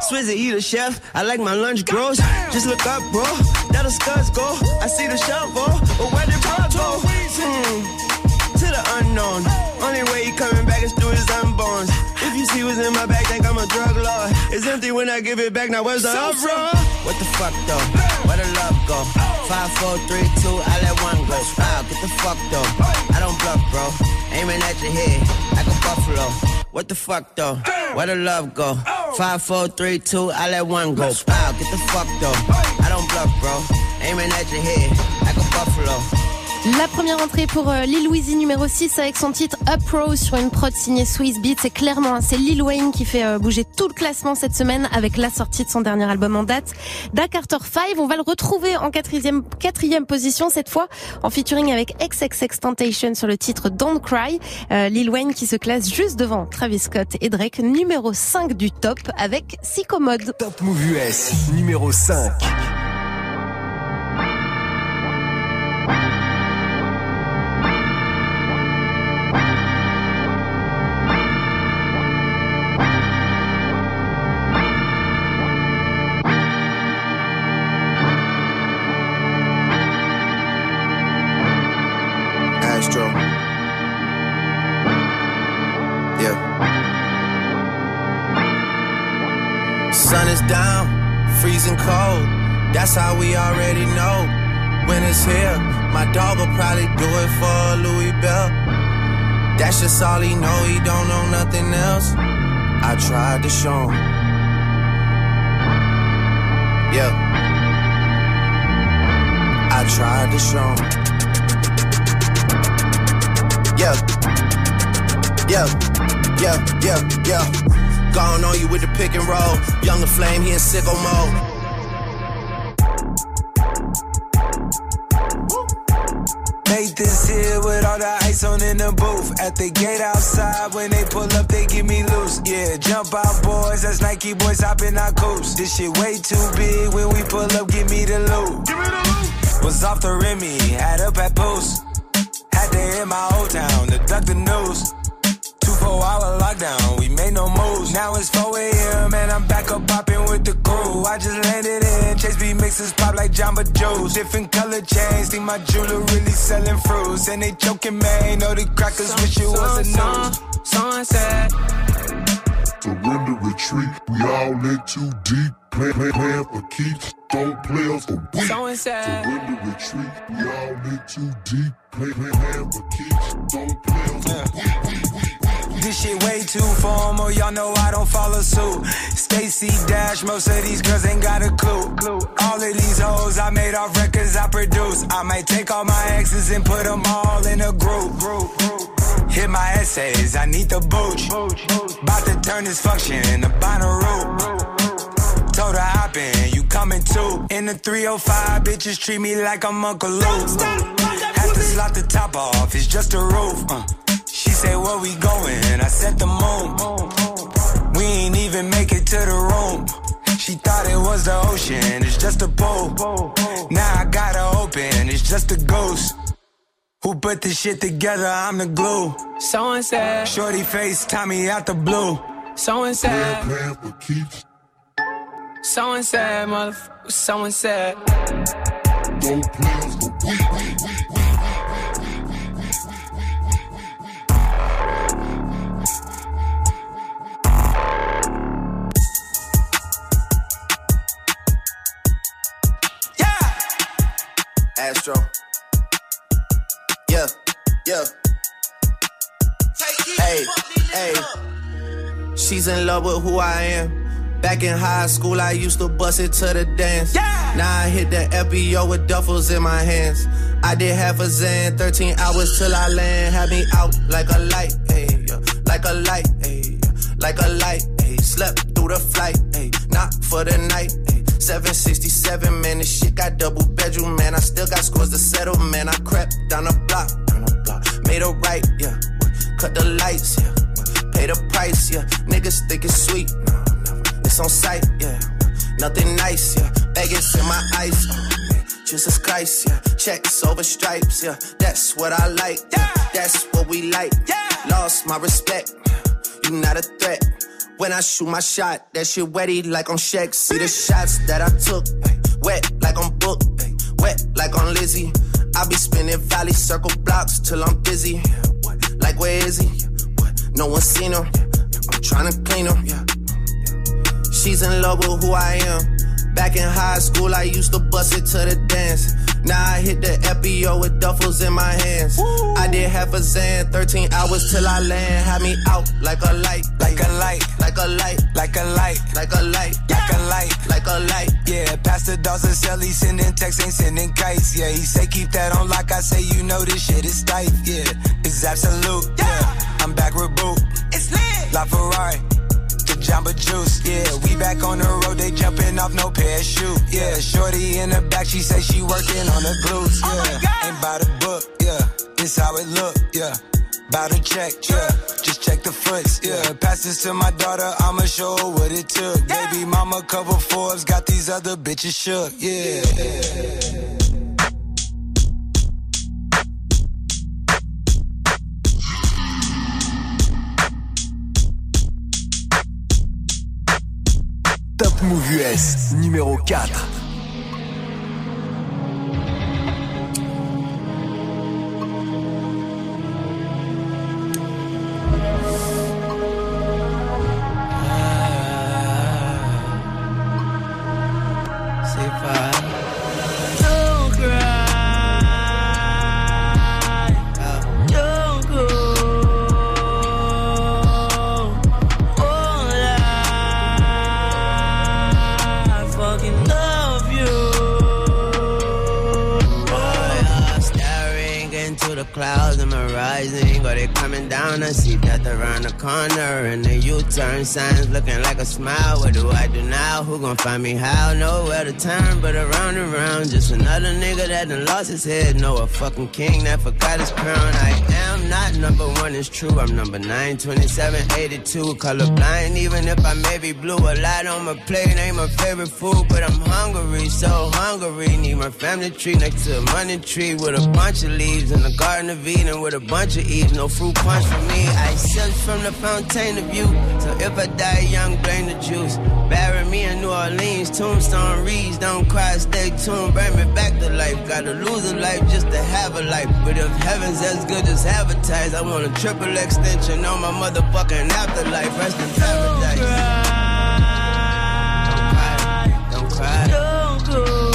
[SPEAKER 6] Swizzy, he the chef. I like my lunch gross. Just look up, bro. That'll scuds go. I see the shovel. But where did bro go? Hmm. To the unknown. Only way he coming back is through his unborns. If you see what's in my bag, think I'm a drug lord. It's empty when I give it back. Now where's the uproar? What the fuck though? Where the love go? Five, four, three, two, I let one go. Wow, get the fuck though. I don't bluff, bro. Aiming at your head like a buffalo. What the fuck though? Where the love go? Five, four, three, two, I let one go. Wow, get the fuck though. I don't bluff, bro. Aiming at your head like a buffalo.
[SPEAKER 1] La première entrée pour euh, Lil Weezy numéro six avec son titre Uprose sur une prod signée Swiss Beats. C'est clairement, hein, c'est Lil Wayne qui fait euh, bouger tout le classement cette semaine avec la sortie de son dernier album en date, Da Carter cinq. On va le retrouver en quatrième, quatrième position cette fois en featuring avec X X X Temptation sur le titre Don't Cry. Euh, Lil Wayne qui se classe juste devant Travis Scott et Drake, numéro cinq du top avec Sicko Mode.
[SPEAKER 2] Top Move U S numéro cinq.
[SPEAKER 16] Sun is down, freezing cold. That's how we already know. When it's here, my dog will probably do it for Louis Bell. That's just all he know, he don't know nothing else. I tried to show him. Yeah. I tried to show him. Yeah. Yeah. Yeah. Yeah. Yeah. Gone on you with the pick and roll. Younger flame, he in sicko mode.
[SPEAKER 20] Made this here with all the ice on in the booth. At the gate outside, when they pull up, they give me loose. Yeah, jump out, boys. That's Nike boys hopping our coops. This shit way too big. When we pull up, give me the loot. Give me the loot. Was off the Remy, had up at Post. Had to hit my old town to duck the news. Four hour lockdown, we made no moves. Now it's four a.m. and I'm back up popping with the crew. I just landed in, Chase B mixes pop like Jamba Juice. Different color chains, think my jeweler really selling fruits. And they joking, man, know the crackers some, wish it was a news.
[SPEAKER 21] Sunset. Surrender, retreat, we all in too deep. Plan, plan, plan for keeps, don't play us for weak. Surrender, retreat, we all in too deep. Plan, plan, plan for keeps, don't play us for weak.
[SPEAKER 20] This shit way too formal, y'all know I don't follow suit. Stacy Dash, most of these girls ain't got a clue. All of these hoes I made off records I produce. I might take all my exes and put them all in a group. Hit my essays, I need the booch. About to turn this function into Bonnaroo. Told her hop in, you coming too. In the three oh five, bitches treat me like I'm Uncle Luke. Have to slot the top off, it's just a roof. Uh. She said, where we going? I said the moon. We ain't even make it to the room. She thought it was the ocean, it's just a pool. Now I gotta open, it's just a ghost. Who put this shit together? I'm the glue. So and said, shorty face, Tommy out the blue. So and said, so and said, motherfucker, so and said. Don't play us for weak, weak, weak, weak.
[SPEAKER 16] Astro. Yeah, yeah. Hey, hey. She's in love with who I am. Back in high school, I used to bust it to the dance. Yeah. Now I hit the F B O with duffels in my hands. I did half a Zan, thirteen hours till I land. Had me out like a light, hey, like a light, hey, like a light, hey. Slept through the flight, hey, not for the night, hey. seven sixty-seven, man, this shit got double bedroom, man. I still got scores to settle, man. I crept down the block, down the block. Made a right, yeah. Cut the lights, yeah. Pay the price, yeah. Niggas think it's sweet, no, never. It's on sight, yeah. Nothing nice, yeah. Vegas in my ice, oh, man. Jesus Christ, yeah. Checks over stripes, yeah. That's what I like, yeah. That's what we like, yeah. Lost my respect, you not a threat.
[SPEAKER 7] When I shoot my shot, that shit wetty like on Shaq. See the shots that I took, wet like on Book, wet like on Lizzie. I be spinning valley circle blocks till I'm busy. Like where is he? No one seen him. I'm tryna clean him. She's in love with who I am. Back in high school, I used to bust it to the dance. Now I hit the F B O with duffels in my hands. Woo. I did half a Zan, thirteen hours till I land. Had me out like a light,
[SPEAKER 20] like a light,
[SPEAKER 7] like a light,
[SPEAKER 20] like a light,
[SPEAKER 7] like a light,
[SPEAKER 20] like a light,
[SPEAKER 7] like a light.
[SPEAKER 20] Yeah, Pastor Dawson Sally sending texts, ain't sending kites. Yeah, he say keep that on like I say, you know this shit is tight. Yeah, it's absolute. Yeah, I'm back with Boot.
[SPEAKER 5] It's lit.
[SPEAKER 20] La Ferrari. Jamba Juice, yeah, we back on the road, they jumping off no parachute, yeah, shorty in the back, she say she working on the glutes, yeah,
[SPEAKER 5] oh
[SPEAKER 20] ain't by the book, yeah, this how it look, yeah, bout to check, yeah, just check the foots, yeah, pass this to my daughter, I'ma show her what it took, yeah. Baby mama cover Forbes, got these other bitches shook, yeah.
[SPEAKER 2] Top Move U S, numéro quatre.
[SPEAKER 6] Clouds am I rising, or they coming down? I see death around the corner, and the U-turn signs looking like a smile. What do I do now? Who gon' find me how? Nowhere to turn, but around and around. Just another nigga that done lost his head. No, a fucking king that forgot his crown. I am not number one, it's true. I'm number nine, twenty-seven, eighty-two. Colorblind, even if I may be blue. A lot on my plate ain't my favorite food, but I'm hungry, so hungry. Need my family tree next to a money tree with a bunch of leaves in the garden of Eden with a bunch of Eves. No fruit punch for me. I sip from the fountain of youth. So if I die young, blame the juice. Bury me in New Orleans, tombstone reads. Don't cry, stay tuned, bring me back to life. Gotta lose a life just to have a life. But if heaven's as good as advertised, I want a triple extension on my motherfucking afterlife. Rest in paradise. Don't cry, don't cry.
[SPEAKER 5] Don't go.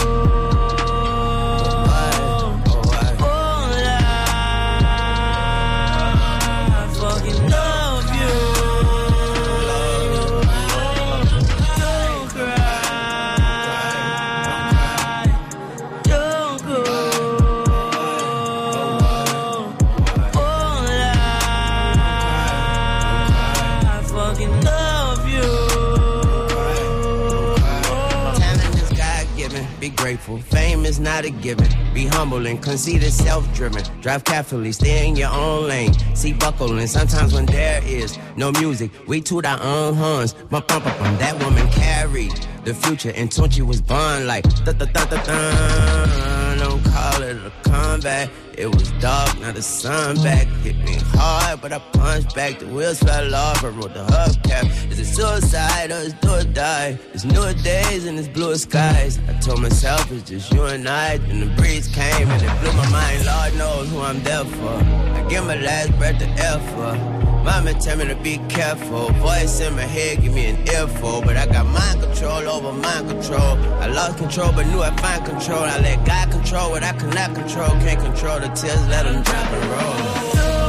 [SPEAKER 6] Grateful. Fame is not a given. Be humble and conceited, self-driven. Drive carefully, stay in your own lane. See buckling. Sometimes when there is no music, we toot our own horns. Bump, bump, bump, bump. That woman carried the future, and Tunchi was born like da da da da da. Don't call it a comeback. It was dark, now the sun back. Hit me hard, but I punched back. The wheels fell off, I wrote the hubcap. Is it suicide or is do or die? It's newer days and it's bluer skies. I told myself it's just you and I. Then the breeze came and it blew my mind. Lord knows who I'm there for. I give my last breath to air for. Mama tell me to be careful. Voice in my head give me an earful. But I got mind control over mind control. I lost control but knew I'd find control. I let God control what I cannot control. Can't control the tears, let them drop and roll.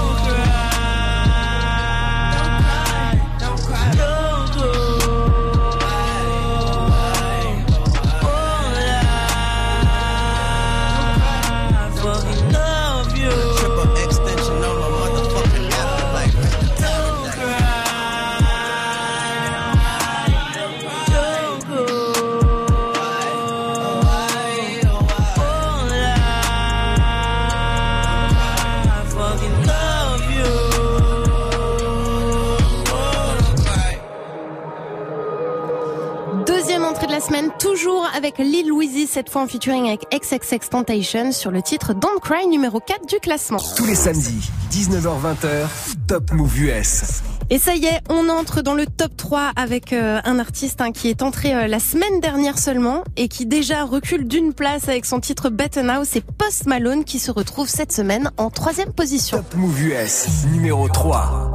[SPEAKER 1] Semaine, toujours avec Lil Weezy, cette fois en featuring avec X X X Temptation sur le titre Don't Cry, numéro quatre du classement.
[SPEAKER 2] Tous les samedis, dix-neuf heures vingt, Top Move U S.
[SPEAKER 1] Et ça y est, on entre dans le top trois avec euh, un artiste hein, qui est entré euh, la semaine dernière seulement et qui déjà recule d'une place avec son titre Better Now. C'est Post Malone qui se retrouve cette semaine en troisième position.
[SPEAKER 2] Top Move U S, numéro trois.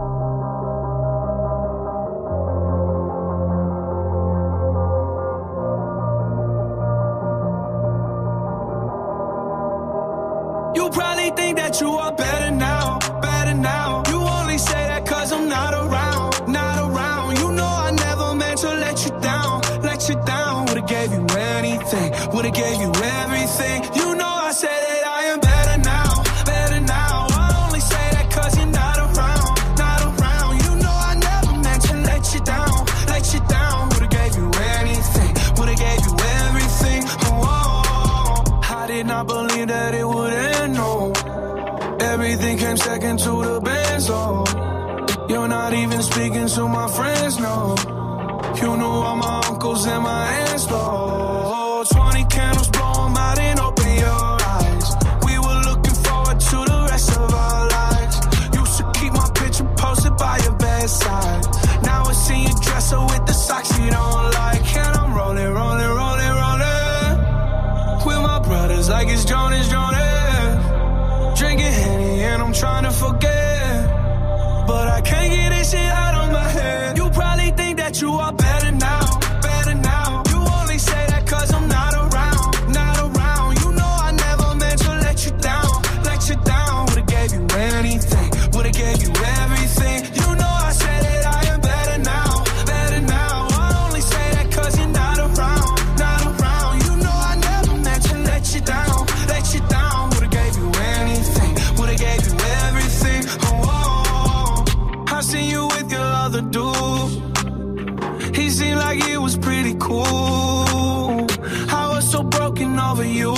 [SPEAKER 9] You probably think that you are better now, better now. You only say that cause I'm not around, not around. You know I never meant to let you down, let you down. Would've gave you anything, would've gave you everything. You know I said that I am better now, better now. I only say that cause you're not around, not around. You know I never meant to let you down, let you down. Would've gave you anything, would've gave you everything. Oh, I did not believe that it would end, no. Everything came second to the Benz, oh. You're not even speaking to my friends, no. You knew all my uncles and my aunts, though. Twenty candles, blow 'em out and open your eyes. We were looking forward to the rest of our lives. Used to keep my picture posted by your bedside. Now I see you dresser with the socks you don't like. And I'm rolling, rolling, rolling, rolling with my brothers like it's Jonas, Jonas. Drinking Henny and I'm trying to forget, but I can't get this shit out of my head. You probably think that you are better now, better now. You only say that cause I'm not around, not around. You know I never meant to let you down, let you down. Would've gave you anything, would've gave you everything. You know I said that I am better now, better now. I only say that cause you're not around, not around. You know I never meant to let you down, let you down. Would've gave you anything, would've gave you everything. Oh, I seen you with your other dude. He seemed like he was pretty cool. I was so broken over you.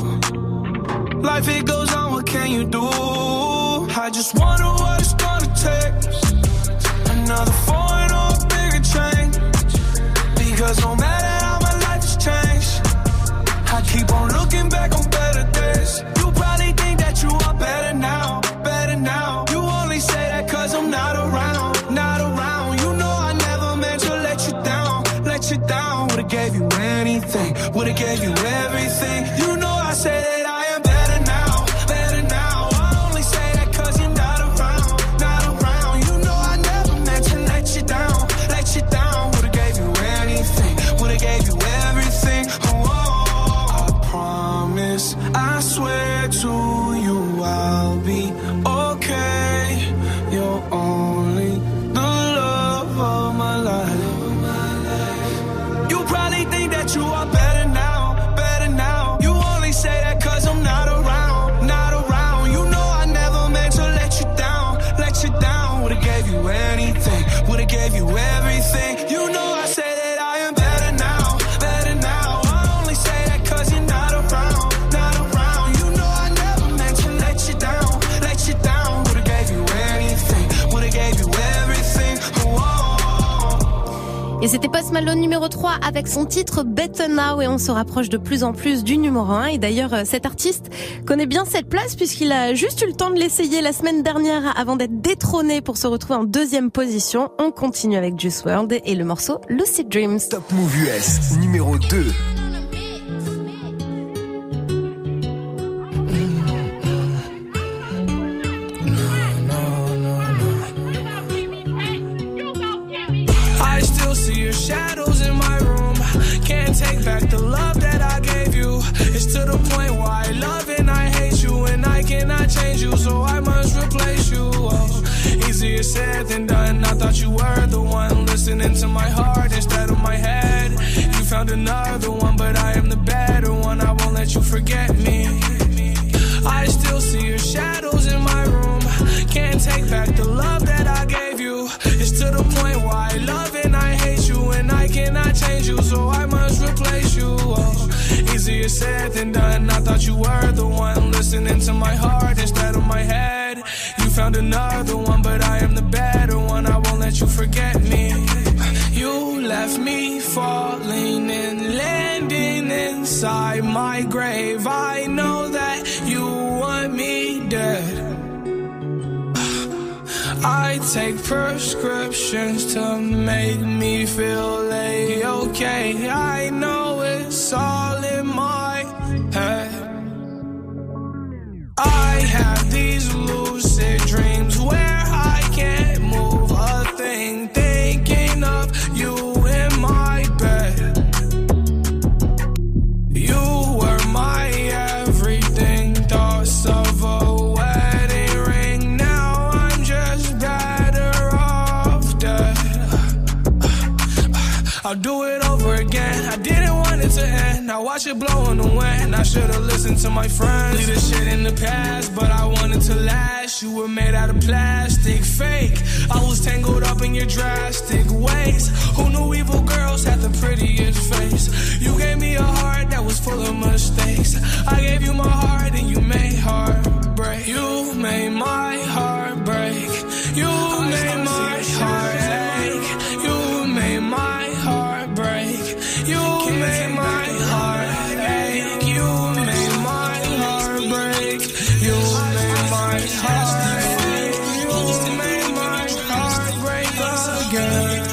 [SPEAKER 9] Life it goes on, what can you do? I just wonder what it's gonna take. Another foreign or a bigger change. Because no matter how my life has changed, I keep on looking back on better days. You probably think that you are better now, better now. You only say that cause I'm not around, not around. You know I never meant to let you down, let you down. Would've gave you anything, would've gave you everything. You know I say that I am better now, better now. I only say that cause you're not around, not around. You know I never meant to let you down, let you down. Would've gave you anything, would've gave you everything. Oh, I promise, I swear to you I'll be okay. You're only the love of my life. You probably think that you are better now, better now. You only say that cause I'm not around, not around. You know I never meant to let you down, let you down. Would've gave you anything, would've gave you everything. You know I say that I am better now, better now. I only say that cause you're not around, not around. You know I never meant to let you down, let you down. Would've gave you anything, would've gave you everything. Oh.
[SPEAKER 1] Et c'était Post Malone numéro trois avec son titre Better Now et on se rapproche de plus en plus du numéro un. Et d'ailleurs, cet artiste connaît bien cette place puisqu'il a juste eu le temps de l'essayer la semaine dernière avant d'être détrôné pour se retrouver en deuxième position. On continue avec Juice world et le morceau Lucid Dreams.
[SPEAKER 2] Top Move U S numéro deux.
[SPEAKER 9] Shadows in my room, can't take back the love that I gave you. It's to the point where I love and I hate you, and I cannot change you, so I must replace you. Oh, easier said than done. I thought you were the one listening to my heart instead of my head. You found another one, but I am the better one. I won't let you forget me. I still see your shadows in my room, can't take back the love that I gave you. It's to the point where I love and I hate you, and I cannot change you, so I must replace you. Oh, easier said than done. I thought you were the one listening to my heart instead of my head. You found another one, but I am the better one. I won't let you forget me. You left me falling and landing inside my grave. I know that you want me dead. I
[SPEAKER 4] I take prescriptions to make me feel A-okay. I know it's all in my head. I have these lucid dreams where I can't move a thing, thinking of you in my bed. You were my everything, thoughts of a wedding ring. Now I'm just better off dead. I'll do it over again. I didn't want it to end. Now watch it blow in the wind. I should've listened to my friends. Leave this shit in the past, but I wanted to last. You were made out of plastic, fake. I was tangled up in your drastic ways. Who knew evil girls had the prettiest face? You gave me a heart that was full of mistakes. I gave you my heart and you made heartbreak. You made my heart break. You made my heart ache. You made my heart break. You made my heart ache. You made my heart break. You made my heart ache. You made my heart break again.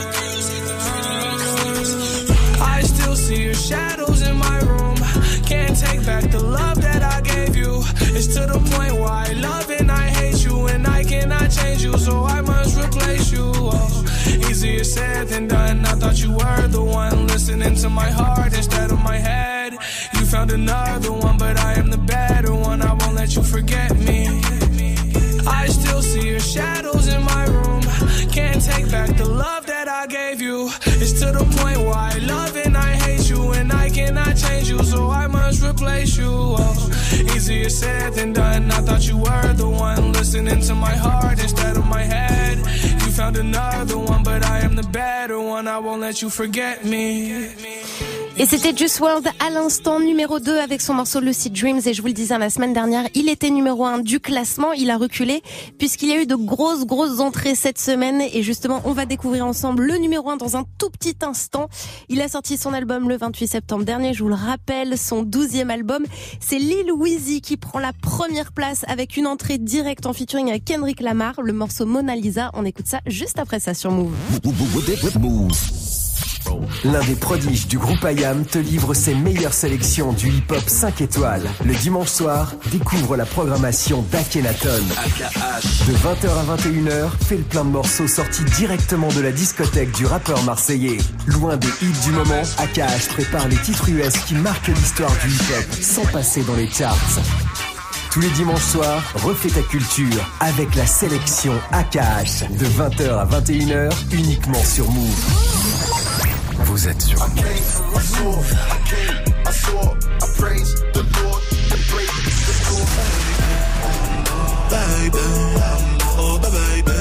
[SPEAKER 4] I still see your shadows in my room. Can't take back the love that I gave you. It's to the point where I love and I hate you, and I cannot change you, so I must replace you. Oh, easier said than done. I thought you were the one listening to my heart instead of my head. You found another one, but I am the better one. I won't let you forget me. I still see your shadows in my room. Can't take back the love that I gave you. It's to the point where I love and I hate you, and I cannot change you, so I must replace you. Oh, easier said than done. I thought you were the one listening to my heart instead of my head. You found another one, but I am the better one. I won't let you forget me.
[SPEAKER 1] Et c'était Juice world à l'instant, numéro deux avec son morceau Lucid Dreams. Et je vous le disais la semaine dernière, il était numéro un du classement. Il a reculé puisqu'il y a eu de grosses, grosses entrées cette semaine. Et justement, on va découvrir ensemble le numéro un dans un tout petit instant. Il a sorti son album le vingt-huit septembre dernier. Je vous le rappelle, son douzième album. C'est Lil Weezy qui prend la première place avec une entrée directe en featuring avec Kendrick Lamar. Le morceau Mona Lisa. On écoute ça juste après ça sur Move.
[SPEAKER 2] L'un des prodiges du groupe I A M te livre ses meilleures sélections du hip-hop cinq étoiles. Le dimanche soir, découvre la programmation d'Akhenaton. De vingt heures à vingt et une heures, fais le plein de morceaux sortis directement de la discothèque du rappeur marseillais. Loin des hits du moment, A K H prépare les titres U S qui marquent l'histoire du hip-hop sans passer dans les charts. Tous les dimanches soirs, refais ta culture avec la sélection A K H. De vingt heures à vingt et une heures, uniquement sur Move. Vous êtes sur Move.
[SPEAKER 22] Baby, oh baby, baby.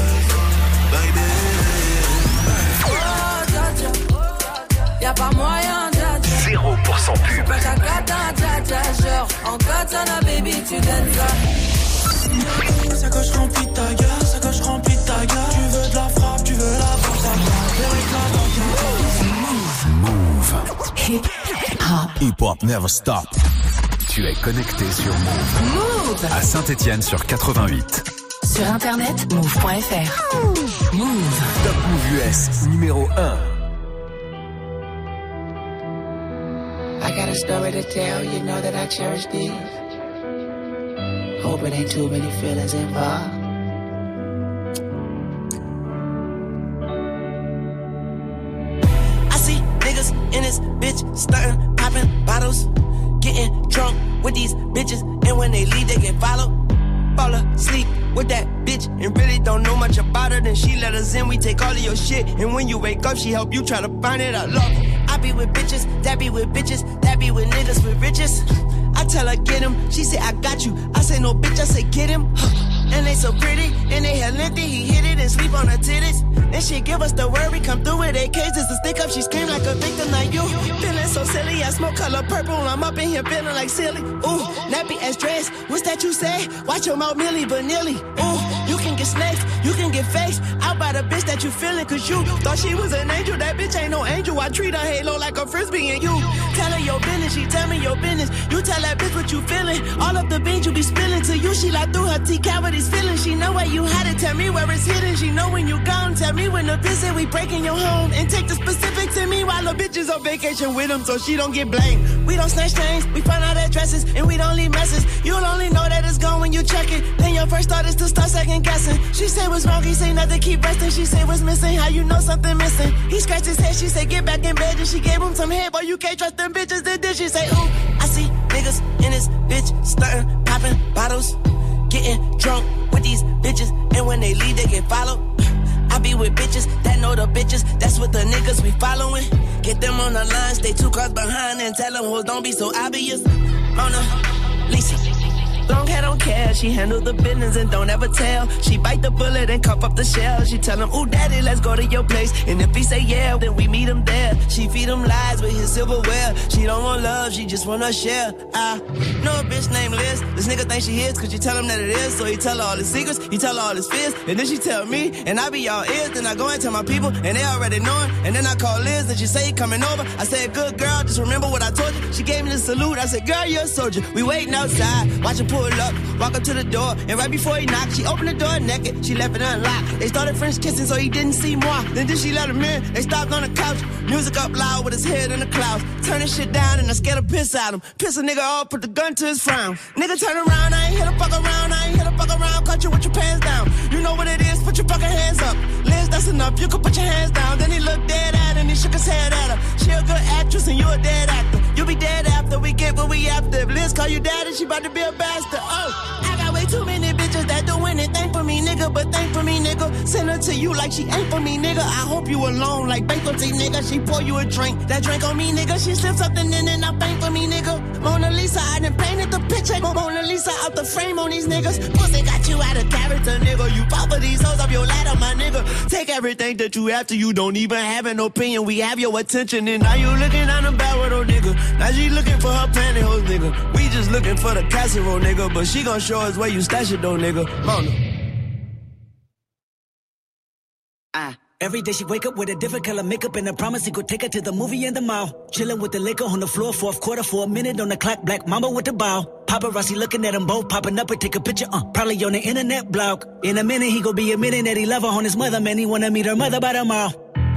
[SPEAKER 23] Oh, dja dja, y'a pas moyen, dja dja.
[SPEAKER 2] zéro pour cent pub.
[SPEAKER 23] Dja dja, genre, en katana, baby, tu donnes ça.
[SPEAKER 22] Sacoche remplie de ta gueule, sacoche remplie de ta gueule. Tu veux de la frappe, tu veux la frappe, ça
[SPEAKER 2] Move.
[SPEAKER 23] Hip hop.
[SPEAKER 2] Hip hop never stop. Tu es connecté sur Move.
[SPEAKER 23] Move.
[SPEAKER 2] À Saint-Étienne sur quatre-vingt-huit.
[SPEAKER 23] Sur internet, move point f r. Move.
[SPEAKER 2] Top Move U S, numéro un.
[SPEAKER 24] I got a story to tell, you know that I cherish these. Hope it ain't too many feelings involved.
[SPEAKER 5] I see niggas in this bitch stunting, popping bottles, getting drunk with these bitches, and when they leave, they get followed. Fall asleep with that bitch and really don't know much about her. Then she let us in, we take all of your shit, and when you wake up, she help you try to find it. I love her. I be with bitches, that be with bitches, that be with niggas with riches. I tell her get him, she say I got you. I say no bitch, I say get him. And they so pretty, and they hell lengthy, he hit it and sleep on her titties. And she give us the word, we come through with A Ks just to stick up. She scream like a victim like you. Feeling so silly, I smoke color purple, I'm up in here feeling like silly. Ooh, nappy ass dress, what's that you say? Watch your mouth, Millie Vanilli. Ooh, you can get
[SPEAKER 9] get snakes, you can get faced out by the bitch that you feeling. Cause you thought she was an angel, that bitch ain't no angel. I treat her halo like a frisbee and you tell her your business, she tell me your business. You tell that bitch what you feeling. All of the beans you be spilling to you, she like through her T cavities feeling. She know where you had it, tell me where it's hidden. She know when you gone, tell me when the visit, we breaking your home. And take the specifics in me while the bitch is on vacation with him so she don't get blamed. We don't snatch chains, we find out addresses, and we don't leave messes. You'll only know that it's gone when you check it. Then your first thought is to start second guessing. She said what's wrong, he say nothing, keep resting. She said what's missing, how you know something missing. He scratched his head, she said get back in bed. And she gave him some head, boy you can't trust them bitches. Then did she say ooh, I see niggas in this bitch stunting, popping bottles, getting drunk with these bitches. And when they leave they get followed. I be with bitches that know the bitches, that's what the niggas we following. Get them on the line, stay two cars behind and tell them hoes don't be so obvious. Mona Lisa, long hair don't care, she handle the business and don't ever tell. She bite the bullet and cup up the shell. She tell him, ooh daddy, let's go to your place. And if he say yeah, then we meet him there. She feed him lies with his silverware. She don't want love, she just wanna share. I know a bitch named Liz. This nigga think she is, cause you tell him that it is. So he tell her all his secrets, he tell her all his fears. And then she tell me, and I be all ears. Then I go and tell my people, and they already know him. And then I call Liz, and she say he coming over. I said, good girl, just remember what I told you. She gave me the salute, I said, girl, you're a soldier. We waiting outside, watch her pull up. Walk up to the door, and right before he knocked, she opened the door naked. She left it unlocked. They started French kissing, so he didn't see more. Then did she let him in? They stopped on the couch. Music up loud with his head in the clouds. Turning shit down, and I scared to piss at him. Piss a nigga off, put the gun to his frown. Nigga turn around, I ain't here to fuck around. I ain't here to fuck around. Caught you with your pants down. You know what it is, put your fucking hands up. Liz, that's enough, you can put your hands down. Then he looked dead at her, and he shook his head at her. She a good actress, and you a dead actor. You be dead after we get what we after. If Liz call you daddy, she about to be a bastard. Oh, I got way too many bitches that do anything for me, nigga. But thank for me, nigga. Send her to you like she ain't for me, nigga. I hope you alone like bankruptcy, nigga. She pour you a drink, that drink on me, nigga. She slipped something in and I bank for me, nigga. Mona Lisa, I done painted the picture. Mona Lisa out the frame on these niggas. Pussy got you out of character, nigga. You fall for these hoes up your ladder, my nigga. Take everything that you have to, you don't even have an opinion. We have your attention, and now you looking on the barrel, though, nigga. Now she looking for her pantyhose, nigga. We just looking for the casserole, nigga. But she gon' show us where you stash it, though, nigga. Mona.
[SPEAKER 3] Ah. Every day she wake up with a different color makeup and a promise he could take her to the movie and the mall. Chilling with the liquor on the floor, fourth quarter for a minute on the clock. Black mama with the bow. Paparazzi looking at them both, popping up and take a picture. Uh, probably on the internet blog. In a minute he gon' be admitting that he love her on his mother. Man, he wanna meet her mother by tomorrow.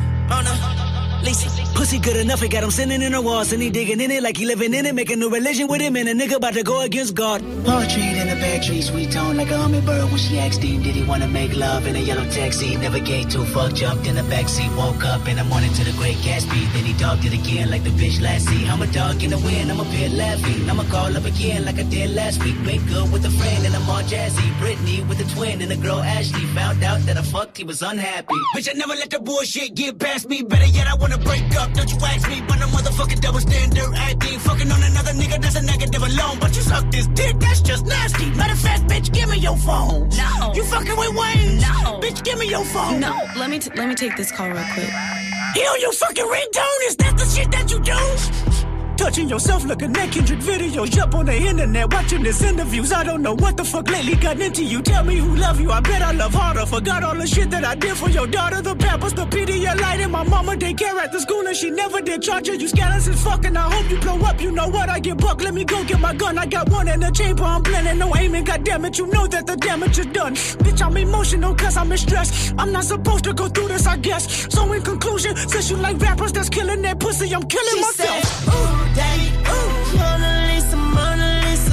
[SPEAKER 3] Mona Lisa. Pussy good enough, he got him sitting in the walls and he digging in it like he living in it, making a religion with him and a nigga about to go against God. Poetry in the back tree, sweet tone like a hummingbird when she asked him, did he wanna make love in a yellow taxi? Never gave two fuck, jumped in the backseat, woke up in the morning to the Great Gatsby, then he dogged it again like the bitch last see. I'm a dog in the wind, I'm a pit laughing, I'ma call up again like I did last week. Wake up with a friend and I'm all jazzy, Brittany with a twin and a girl Ashley, found out that I fucked, he was unhappy. Bitch, I never let the bullshit get past me, better yet I wanna break up, don't you ask me, but a motherfucking double standard acting. Fucking on another nigga, that's a negative alone. But you suck this dick, that's just nasty. Matter of fact, bitch, give me your phone. No. You fucking with Wayne? No. Bitch, give me your phone.
[SPEAKER 10] No. Let me t- let me take this call real quick.
[SPEAKER 3] He on your fucking ringtone? Is that the shit that you do? Touching yourself, looking at Kendrick videos, up on the internet, watching his interviews. I don't know what the fuck lately got into you. Tell me who love you, I bet I love harder. Forgot all the shit that I did for your daughter. The Pampers, the Pedialyte, and my mama daycare at the school, and she never did charge her. You scandalous as fuck, and I hope you blow up. You know what, I get buck, let me go get my gun. I got one in the chamber, I'm blending, no aiming, goddammit. You know that the damage is done. Bitch, I'm emotional cause I'm in stress. I'm not supposed to go through this, I guess. So in conclusion, since you like rappers that's killing that pussy, I'm killing
[SPEAKER 9] she
[SPEAKER 3] myself.
[SPEAKER 9] Said, ooh, daddy, ooh, Mona Lisa, Mona Lisa.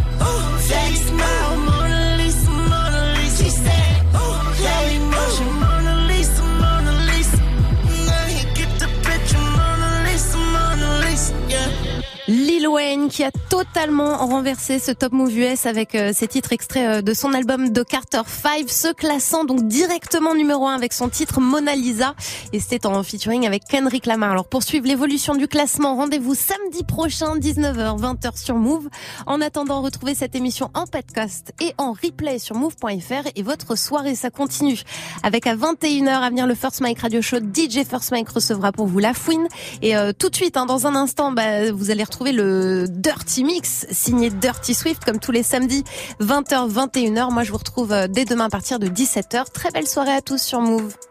[SPEAKER 9] Ooh, daddy smile, Mona Lisa, Mona Lisa. She said, ooh, daddy motion, Mona Lisa, Mona Lisa. Now he get the picture, Mona Lisa, Mona Lisa, yeah.
[SPEAKER 1] Lil Wayne qui a totalement renversé ce Top Move U S avec euh, ses titres extraits euh, de son album The Carter five, se classant donc directement numéro un avec son titre Mona Lisa, et c'était en featuring avec Kendrick Lamar. Alors pour suivre l'évolution du classement, rendez-vous samedi prochain dix-neuf heures vingt heures sur Move. En attendant, retrouvez cette émission en podcast et en replay sur move point f r, et votre soirée ça continue avec à vingt et une heures à venir le First Mike Radio Show. D J First Mike recevra pour vous La Fouine, et euh, tout de suite hein, dans un instant bah, vous allez retrouver le de Dirty Mix, signé Dirty Swift, comme tous les samedis, vingt heures, vingt et une heures. Moi, je vous retrouve dès demain à partir de dix-sept heures. Très belle soirée à tous sur Move.